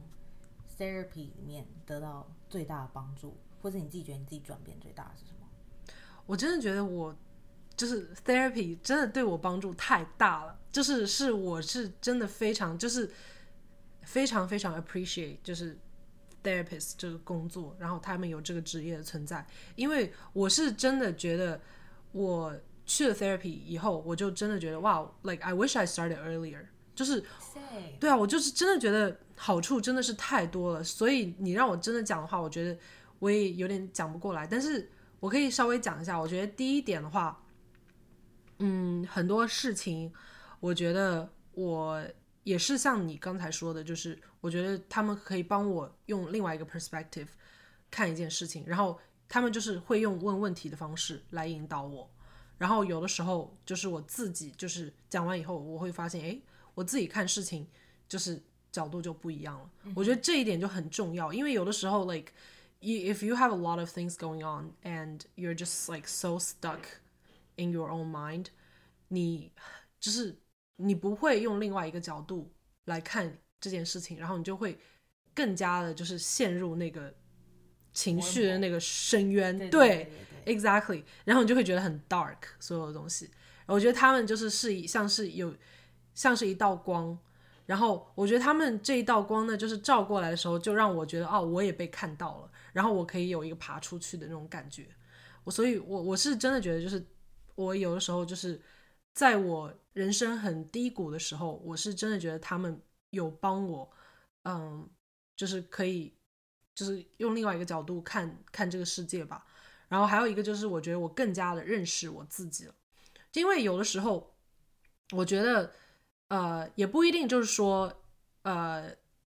therapy 里面得到最大的帮助，或者你自己觉得你自己转变最大的是什么？ 我真的觉得我就是 therapy 真的对我帮助太大了，就是是我是真的非常就是非常非常 appreciate 就是 therapist 这个工作，然后他们有这个职业的存在，因为我是真的觉得我去了 therapy 以后，我就真的觉得哇 like I wish I started earlier， 就是对啊，我就是真的觉得好处真的是太多了，所以你让我真的讲的话，我觉得我也有点讲不过来，但是我可以稍微讲一下。我觉得第一点的话，嗯，很多事情我觉得我也是像你刚才说的，就是我觉得他们可以帮我用另外一个 perspective 看一件事情，然后他们就是会用问问题的方式来引导我，然后有的时候就是我自己就是讲完以后，我会发现哎，我自己看事情就是角度就不一样了，嗯，我觉得这一点就很重要，因为有的时候 like if you have a lot of things going on and you're just like so stuck in your own mind， 你就是你不会用另外一个角度来看这件事情，然后你就会更加的就是陷入那个情绪的那个深渊，对, 对, 对, 对 exactly， 然后你就会觉得很 dark 所有的东西，我觉得他们就是是像是有像是一道光，然后我觉得他们这一道光呢就是照过来的时候就让我觉得哦我也被看到了，然后我可以有一个爬出去的那种感觉，我所以我我是真的觉得就是我有的时候就是在我人生很低谷的时候，我是真的觉得他们有帮我嗯，就是可以就是用另外一个角度看看这个世界吧，然后还有一个就是我觉得我更加的认识我自己了，因为有的时候我觉得呃，也不一定就是说呃，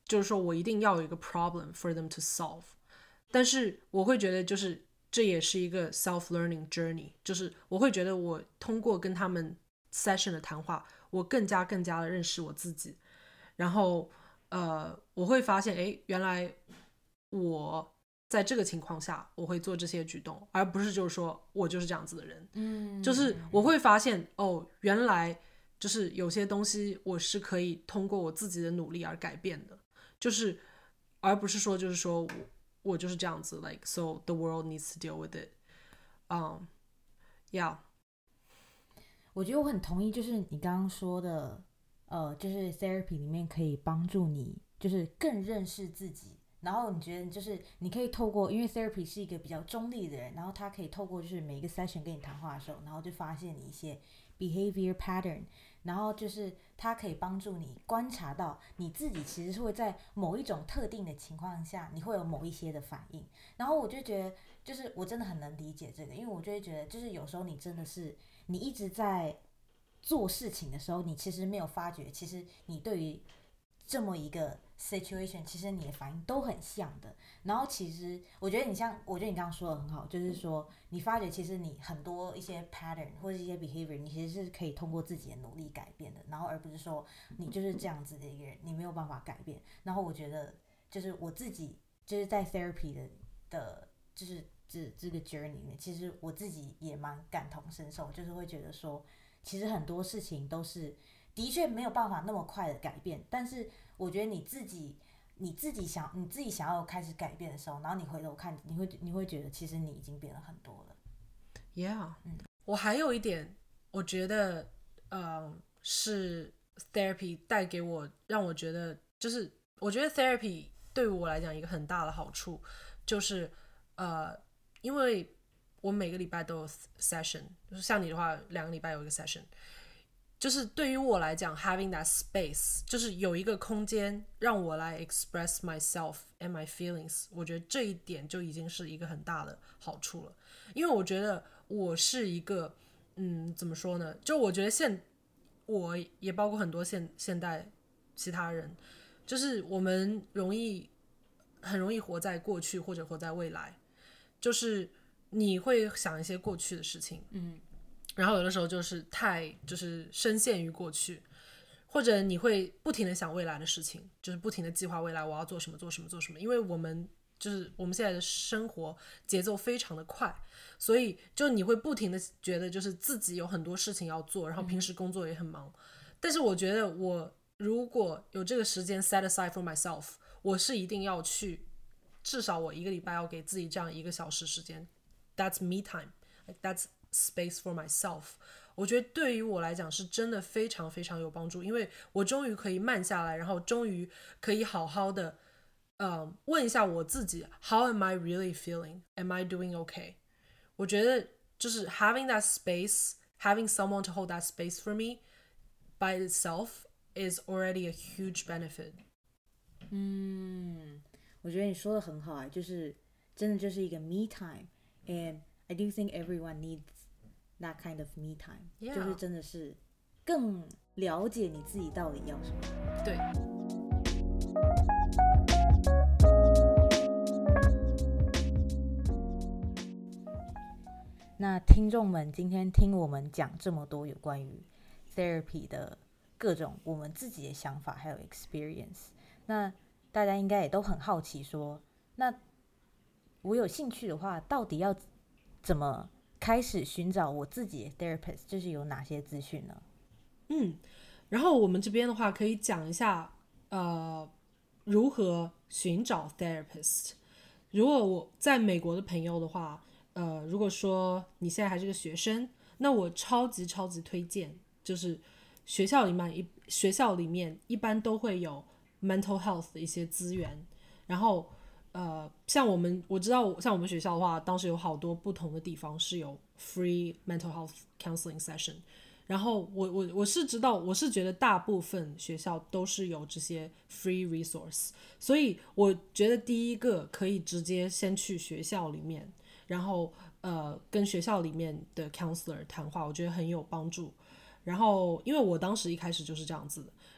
就是说我一定要有一个 problem for them to solve， 但是我会觉得就是这也是一个 self-learning journey， 就是我会觉得我通过跟他们 session 的谈话，我更加更加的认识我自己，然后呃，我会发现哎，原来我在这个情况下我会做这些举动，而不是就是说我就是这样子的人。 嗯， 就是我会发现哦，原来就是有些东西我是可以通过我自己的努力而改变的，就是而不是说就是说我我就是这样子 like so the world needs to deal with it。 um yeah， 我觉得我很同意，就是你刚刚说的，呃，就是 therapy 里面可以帮助你，就是更认识自己。然后你觉得就是你可以透过，因为 therapy 是一个比较中立的人，然后他可以透过就是每一个 session 跟你谈话的时候，然后就发现你一些 behavior pattern， 然后就是他可以帮助你观察到你自己其实是会在某一种特定的情况下，你会有某一些的反应。然后我就觉得，就是我真的很能理解这个，因为我就会觉得，就是有时候你真的是你一直在做事情的时候，你其实没有发觉，其实你对于这么一个 situation， 其实你的反应都很像的。然后其实我觉得你像，我觉得你刚刚说的很好，就是说你发觉其实你很多一些 pattern 或者一些 behavior， 你其实是可以通过自己的努力改变的，然后而不是说你就是这样子的一个人，你没有办法改变。然后我觉得就是我自己就是在 therapy 的的，就是这这个 journey 里面，其实我自己也蛮感同身受，就是会觉得说，其实很多事情都是的确没有办法那么快的改变，但是我觉得你自己你自己想你自己想要开始改变的时候，然后你回头看，你会你会觉得其实你已经变了很多了。 Yeah， 嗯， 我还有一点，我觉得，呃，是 therapy 带给我，让我觉得，就是我觉得 therapy 对于我来讲一个很大的好处，就是呃，因为我每个礼拜都有 session， 就是像你的话，两个礼拜有一个 session。就是对于我来讲 having that space， 就是有一个空间让我来 express myself and my feelings， 我觉得这一点就已经是一个很大的好处了。因为我觉得我是一个嗯怎么说呢，就我觉得现我也包括很多现现代其他人，就是我们容易很容易活在过去或者活在未来，就是你会想一些过去的事情， 嗯， 然后有的时候就是太就是深陷于过去，或者你会不停的想未来的事情，就是不停的计划未来我要做什么做什么做什么，因为我们就是我们现在的生活节奏非常的快，所以就你会不停的觉得就是自己有很多事情要做，然后平时工作也很忙，但是我觉得我如果有这个时间 set aside for myself， 我是一定要去，至少我一个礼拜要给自己这样一个小时时间， that's me time， like that's space for myself。 我觉得对于我来讲是真的非常非常有帮助，因为我终于可以慢下来，然后终于可以好好的呃问一下我自己 How am I really feeling? Am I doing okay? 我觉得就是 having that space, having someone to hold that space for me by itself is already a huge benefit。 嗯，我觉得你说的很好哎，就是真的就是一个 me time and I do think everyone needs that kind of me time， Yeah. 就是真的是更了解你自己到底要什么。 对， 那听众们今天听我们讲这么多有关于 therapy 的各种我们自己的想法还有 experience， 那大家应该也都很好奇说，那我有兴趣的话到底要怎么开始寻找我自己的 therapist， 就是有哪些资讯呢？ 嗯，然后我们这边的话可以讲一下呃如何寻找 therapist。 如果我在美国的朋友的话，呃，如果说你现在还是个学生，那我超级超级推荐，就是学校里面一学校里面一般都会有 mental health 的一些资源，然后呃，像我们我知道像我们学校的话，当时有好多不同的地方是有 free mental health counseling session， 然后我我我是知道，我是觉得大部分学校都是有这些 free resource， 所以我觉得第一个可以直接先去学校里面，然后呃跟学校里面的 counselor 谈话，我觉得很有帮助。然后因为我当时一开始就是这样子的，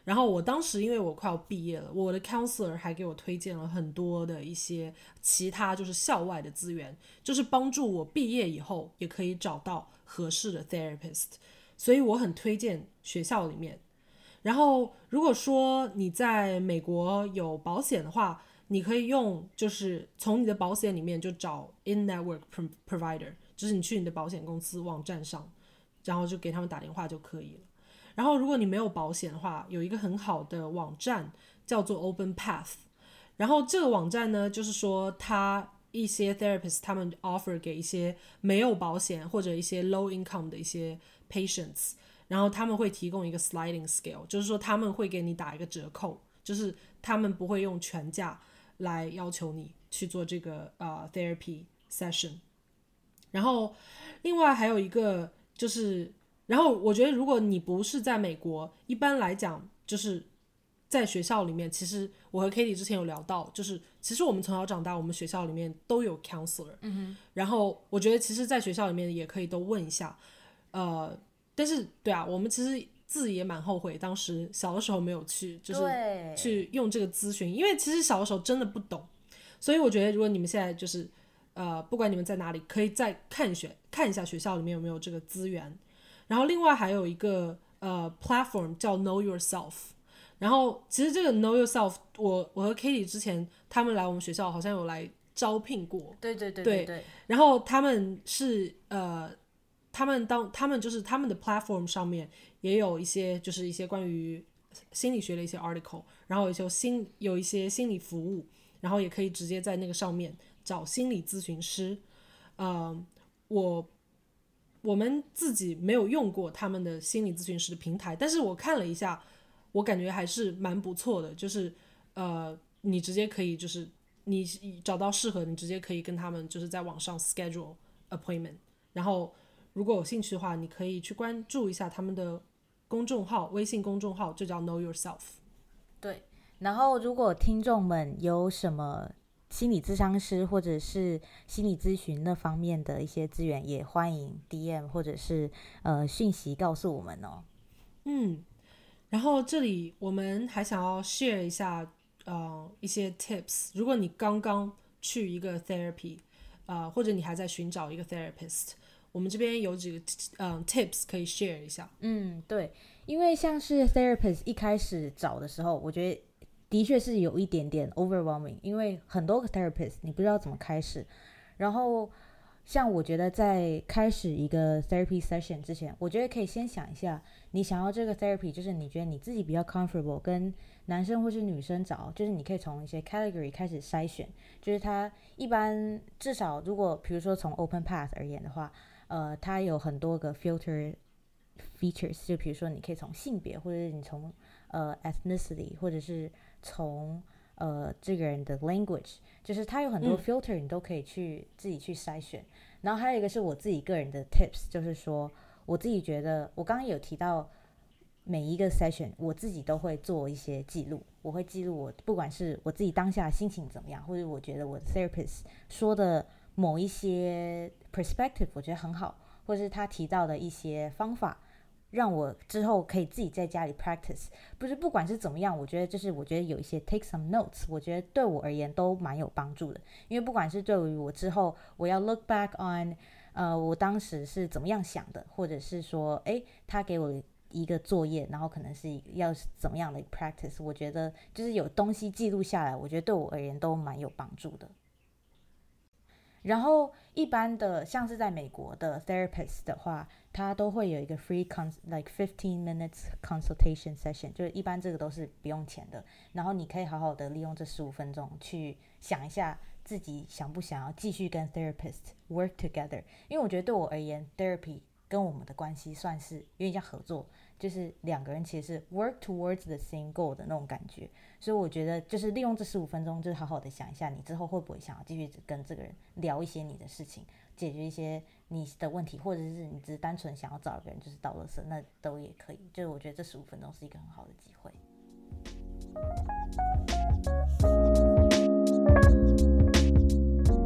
然后我当时因为我快要毕业了，我的 counselor 还给我推荐了很多的一些其他就是校外的资源，就是帮助我毕业以后也可以找到合适的 therapist， 所以我很推荐学校里面。然后如果说你在美国有保险的话，你可以用就是从你的保险里面就找 in-network provider， 就是你去你的保险公司网站上，然后就给他们打电话就可以了。然后如果你没有保险的话，有一个很好的网站叫做 Open Path， 然后这个网站呢，就是说它一些 therapist 他们 offer 给一些没有保险或者一些 low income 的一些 patients， 然后他们会提供一个 sliding scale， 就是说他们会给你打一个折扣，就是他们不会用全价来要求你去做这个、uh, therapy session。 然后另外还有一个就是然后我觉得如果你不是在美国，一般来讲就是在学校里面，其实我和 Katie 之前有聊到，就是其实我们从小长大我们学校里面都有 counselor，嗯哼，然后我觉得其实在学校里面也可以都问一下，呃，但是对啊，我们其实自己也蛮后悔当时小的时候没有去就是去用这个咨询，因为其实小的时候真的不懂，所以我觉得如果你们现在就是呃，不管你们在哪里，可以再看学看一下学校里面有没有这个资源。然后另外还有一个呃 platform 叫 Know Yourself， 然后其实这个 Know Yourself 我我和 Katie 之前他们来我们学校好像有来招聘过， 对对对对对， 然后他们是呃他们当他们就是他们的 platform 上面也有一些就是一些关于心理学的一些 article， 然后有一些心有一些心理服务，然后也可以直接在那个上面找心理咨询师。呃我我们自己没有用过他们的心理咨询师的平台，但是我看了一下，我感觉还是蛮不错的，就是呃，你直接可以就是你找到适合，你直接可以跟他们就是在网上 schedule appointment， 然后如果有兴趣的话，你可以去关注一下他们的公众号，微信公众号就叫 Know Yourself。 对，然后如果听众们有什么心理咨商师或者是心理咨询那方面的一些资源，也欢迎 D M 或者是呃讯息告诉我们哦。 嗯，然后这里我们还想要 share 一下呃一些 tips， 如果你刚刚去一个 therapy， 呃或者你还在寻找一个 therapist， 我们这边有几个嗯 tips 可以 share 一下。 嗯，对，因为像是 therapist 一开始找的时候，我觉得的确是有一点点 overwhelming， 因为很多个 therapist 你不知道怎么开始。然后像我觉得在开始一个 therapy session 之前，我觉得可以先想一下，你想要这个 therapy， 就是你觉得你自己比较 comfortable 跟男生或是女生找，就是你可以从一些 category 开始筛选，就是它一般至少如果比如说从 Open Path 而言的话，呃，它有很多个 filter features， 就比如说你可以从性别，或者是你从呃 ethnicity， 或者是从呃这个人的 language， 就是它有很多 filter， 你都可以去、嗯、自己去筛选。然后还有一个是我自己个人的 tips， 就是说我自己觉得我刚刚有提到每一个 session 我自己都会做一些记录，我会记录我不管是我自己当下心情怎么样，或者我觉得我的 therapist 说的某一些 perspective 我觉得很好，或者是他提到的一些方法，让我之后可以自己在家里 practice。 不是不管是怎么样，我觉得就是我觉得有一些 take some notes， 我觉得对我而言都蛮有帮助的。因为不管是对于我之后我要 look back on 呃，我当时是怎么样想的，或者是说诶他给我一个作业，然后可能是要怎么样的 practice， 我觉得就是有东西记录下来，我觉得对我而言都蛮有帮助的。然后一般的像是在美国的 therapist 的话，他都会有一个 free cons like fifteen minutes consultation session， 就是一般这个都是不用钱的，然后你可以好好的利用这十五分钟去想一下自己想不想要继续跟 therapist work together。 因为我觉得对我而言 therapy 跟我们的关系算是有点像合作，就是两个人其实是 work towards the same goal 的那种感觉。所以我觉得就是利用这十五分钟，就是好好的想一下你之后会不会想要继续跟这个人聊一些你的事情，解决一些你的问题，或者是你只是单纯想要找一个人就是倒垃圾，那都也可以。就是我觉得这十五分钟是一个很好的机会。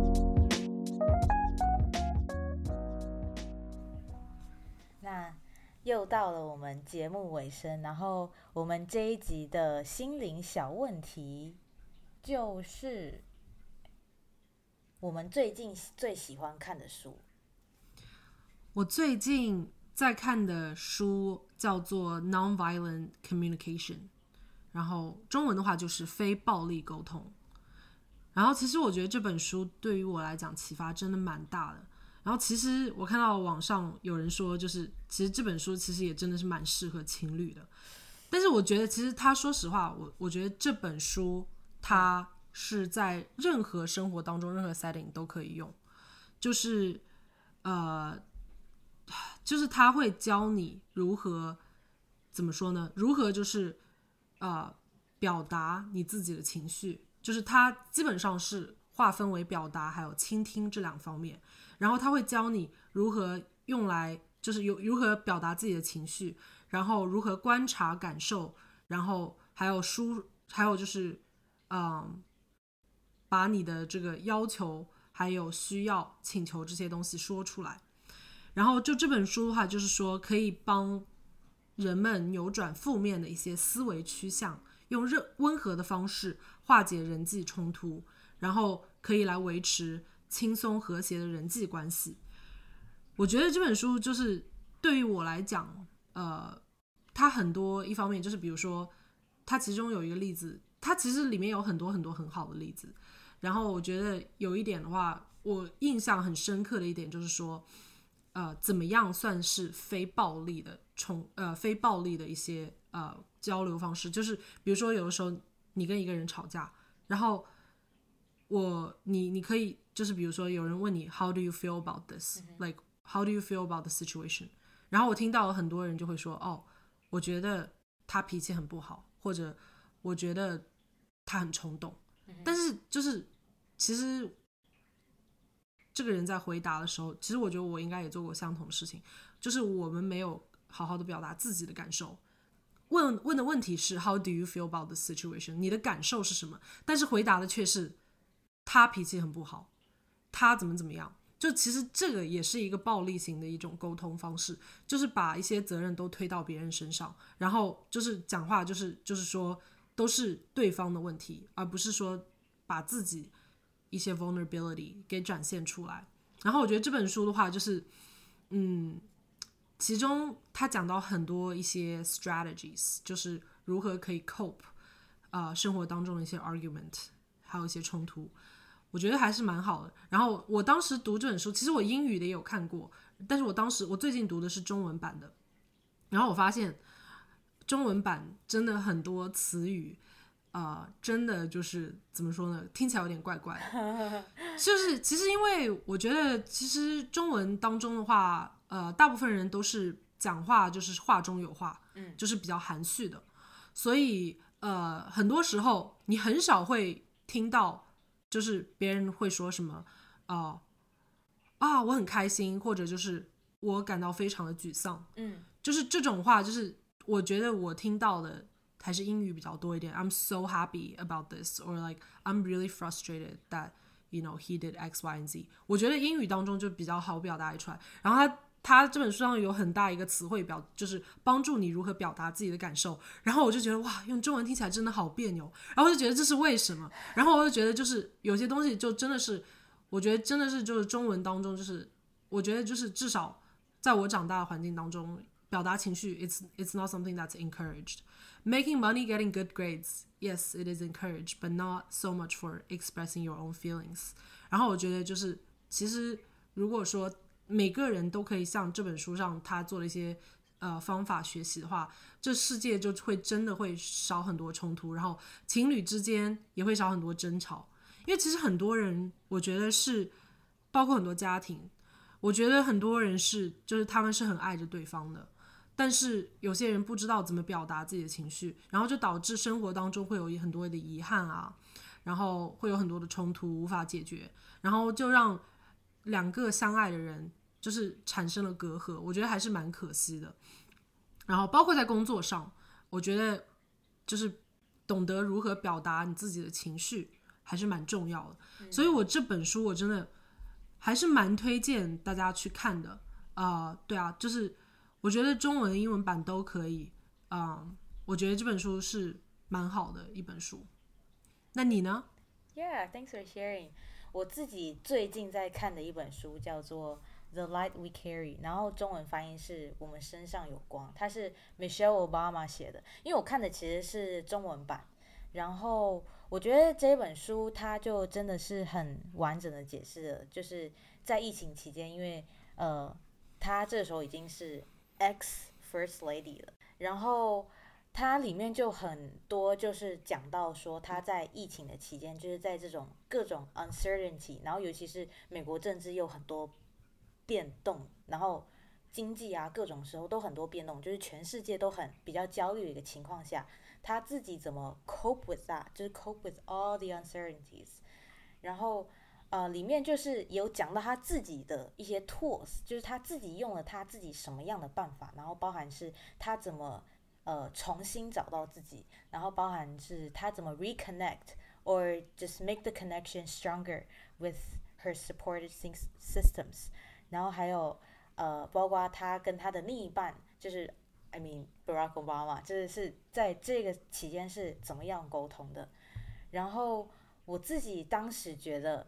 那又到到了我们节目尾声，然后我们这一集的心灵小问题就是我们最近最喜欢看的书。 我最近在看的书叫做 Nonviolent Communication， 然后中文的话就是非暴力沟通。然后其实我觉得这本书对于我来讲启发真的蛮大的。然后其实我看到网上有人说，就是其实这本书其实也真的是蛮适合情侣的。但是我觉得其实他说实话，我我觉得这本书它是在任何生活当中任何 setting 都可以用，就是呃。就是他会教你如何怎么说呢？如何就是呃表达你自己的情绪，就是他基本上是划分为表达还有倾听这两方面，然后他会教你如何用来就是有如何表达自己的情绪，然后如何观察感受，然后还有输还有就是嗯把你的这个要求还有需要请求这些东西说出来。然后就这本书的话，就是说可以帮人们扭转负面的一些思维趋向，用温和的方式化解人际冲突，然后可以来维持轻松和谐的人际关系。我觉得这本书就是对于我来讲，呃，它很多一方面就是比如说，它其中有一个例子，它其实里面有很多很多很好的例子。然后我觉得有一点的话，我印象很深刻的一点就是说。呃，怎么样算是非暴力的冲呃非暴力的一些呃交流方式？就是比如说，有的时候你跟一个人吵架，然后我你你可以就是比如说有人问你 How do you feel about this?、嗯、Like how do you feel about the situation? 然后我听到了很多人就会说，哦，我觉得他脾气很不好，或者我觉得他很冲动。嗯、但是就是其实。这个人在回答的时候，其实我觉得我应该也做过相同的事情，就是我们没有好好的表达自己的感受。问问的问题是 How do you feel about the situation？ 你的感受是什么？但是回答的却是他脾气很不好，他怎么怎么样。就其实这个也是一个暴力型的一种沟通方式，就是把一些责任都推到别人身上，然后就是讲话就是就是说都是对方的问题，而不是说把自己一些 vulnerability 给展现出来。然后我觉得这本书的话就是嗯，其中他讲到很多一些 strategies， 就是如何可以 cope、呃、生活当中的一些 argument 还有一些冲突，我觉得还是蛮好的。然后我当时读这本书，其实我英语的也有看过，但是我当时我最近读的是中文版的，然后我发现中文版真的很多词语呃，真的就是怎么说呢，听起来有点怪怪的。就是其实因为我觉得其实中文当中的话呃，大部分人都是讲话就是话中有话、嗯、就是比较含蓄的，所以呃，很多时候你很少会听到就是别人会说什么呃、啊我很开心，或者就是我感到非常的沮丧、嗯、就是这种话，就是我觉得我听到的还是英语比较多一点。 I'm so happy about this or like I'm really frustrated that you know he did X Y and Z。 我觉得英语当中就比较好表达出来。然后他他这本书上有很大一个词汇表，就是帮助你如何表达自己的感受。然后我就觉得哇，用中文听起来真的好别扭，然后我就觉得这是为什么。然后我就觉得就是有些东西就真的是我觉得真的是就是中文当中就是我觉得就是至少在我长大的环境当中，表达情绪 it's, it's not something that's encouraged。Making money, getting good grades, yes, it is encouraged, but not so much for expressing your own feelings. 然后我觉得就是其实如果说每个人都可以像这本书上他做了一些呃方法学习的话，这世界就会真的会少很多冲突，然后情侣之间也会少很多争吵。因为其实很多人我觉得是包括很多家庭，我觉得很多人是就是他们是很爱着对方的，但是有些人不知道怎么表达自己的情绪，然后就导致生活当中会有很多的遗憾啊，然后会有很多的冲突无法解决，然后就让两个相爱的人就是产生了隔阂，我觉得还是蛮可惜的。然后包括在工作上，我觉得就是懂得如何表达你自己的情绪还是蛮重要的、嗯、所以我这本书我真的还是蛮推荐大家去看的啊、呃，对啊，就是我觉得中文、英文版都可以。嗯，我觉得这本书是蛮好的一本书。那你呢？ Yeah, thanks for sharing. 我自己最近在看的一本书叫做The Light We Carry， 然后中文翻译是我们身上有光，它是 Michelle Obama 写的，因为我看的其实是中文版，然后我觉得这本书它就真的是很完整的解释了，就是在疫情期间，因为呃，她这时候已经是 ex First Lady 了，然后它里面就很多就是讲到说他在疫情的期间，就是在这种各种 uncertainty， 然后尤其是美国政治又很多变动，然后经济啊各种时候都很多变动，就是全世界都很比较焦虑的一个情况下，他自己怎么 cope with that， 就是 cope with all the uncertainties。然后呃，里面就是有讲到他自己的一些 tools， 就是他自己用了他自己什么样的办法，然后包含是他怎么呃重新找到自己，然后包含是他怎么 reconnect or just make the connection stronger with her supported systems， 然后还有呃包括他跟他的另一半，就是 I mean Barack Obama， 就是是在这个期间是怎么样沟通的。然后我自己当时觉得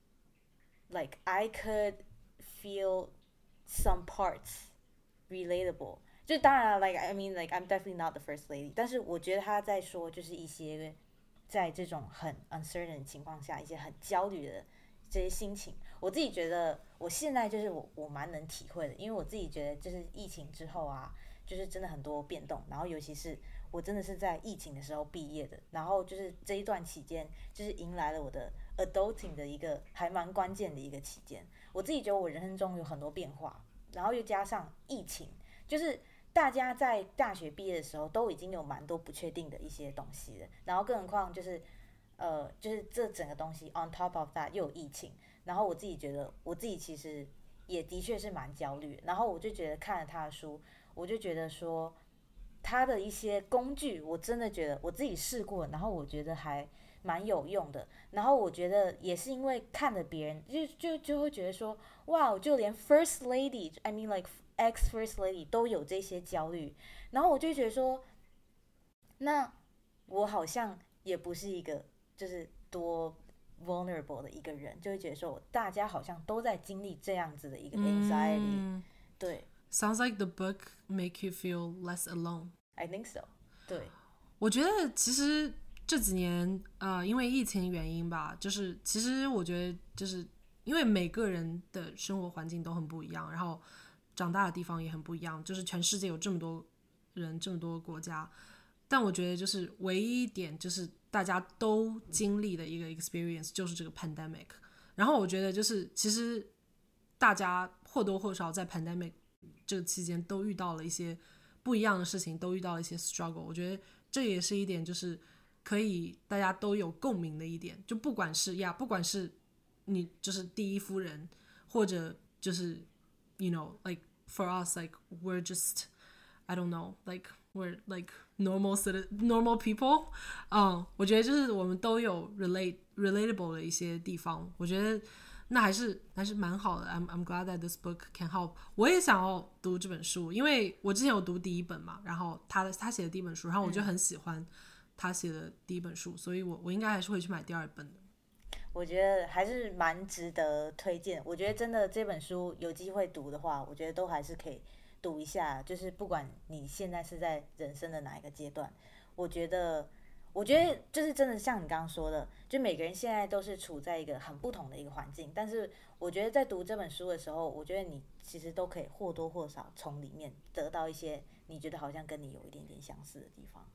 like I could feel some parts relatable， 就当然了 like I mean like I'm definitely not the first lady， 但是我觉得他在说就是一些在这种很 uncertain 的情况下一些很焦虑的这些心情，我自己觉得我现在就是我我蛮能体会的，因为我自己觉得就是疫情之后啊，就是真的很多变动，然后尤其是我真的是在疫情的时候毕业的，然后就是这一段期间就是迎来了我的 adulting 的一个还蛮关键的一个期间，我自己觉得我人生中有很多变化，然后又加上疫情，就是大家在大学毕业的时候都已经有蛮多不确定的一些东西了，然后更何况就是呃就是这整个东西 on top of that 又有疫情，然后我自己觉得我自己其实也的确是蛮焦虑，然后我就觉得看了他的书，我就觉得说他的一些工具我真的觉得我自己试过，然后我觉得还蛮有用的，然后我觉得也是因为看了别人就就就会觉得说哇，就连 first lady I mean like ex first lady 都有这些焦虑，然后我就觉得说那我好像也不是一个就是多 vulnerable 的一个人，就会觉得说大家好像都在经历这样子的一个 anxiety、嗯、对 Sounds like the book make you feel less alone. I think so. 对， 我觉得其实这几年呃，因为疫情原因吧，就是其实我觉得就是因为每个人的生活环境都很不一样，然后长大的地方也很不一样，就是全世界有这么多人，这么多国家，但我觉得就是唯一一点就是大家都经历的一个 experience 就是这个 pandemic。然后我觉得就是其实大家或多或少在 pandemic 这个期间都遇到了一些不一样的事情，都遇到了一些 struggle。我觉得这也是一点就是可以大家都有共鸣的一点，就不管是呀，不管是你就是第一夫人，或者就是 you know like for us like we're just I don't know like we're like normal normal people， 嗯，我觉得就是我们都有 relate relatable 的一些地方，我觉得那还是还是蛮好的。 I'm, I'm glad that this book can help。 我也想要读这本书，因为我之前有读第一本嘛，然后他他写的第一本书，然后我就很喜欢他写的第一本书，所以我我应该还是会去买第二本的。 我觉得还是蛮值得推荐，我觉得真的这本书有机会读的话，我觉得都还是可以读一下，就是不管你现在是在人生的哪一个阶段，我觉得我觉得就是真的像你刚刚说的，就每个人现在都是处在一个很不同的一个环境，但是我觉得在读这本书的时候，我觉得你其实都可以或多或少从里面得到一些你觉得好像跟你有一点点相似的地方。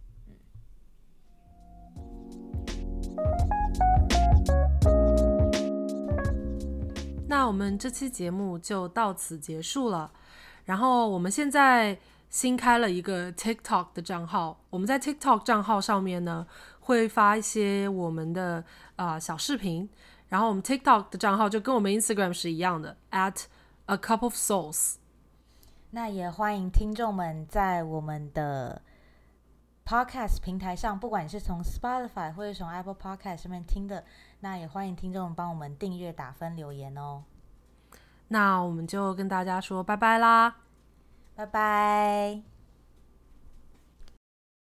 那我们这期节目就到此结束了，然后我们现在新开了一个 TikTok 的账号，我们在 TikTok 账号上面呢会发一些我们的、呃、小视频，然后我们 TikTok 的账号就跟我们 Instagram 是一样的 at a cup of souls。 那也欢迎听众们在我们的 Podcast 平台上，不管你是从 Spotify 或者从 Apple Podcast 上面听的，那也欢迎听众帮我们订阅、打分、留言哦。 那我们就跟大家说拜拜啦。 拜拜。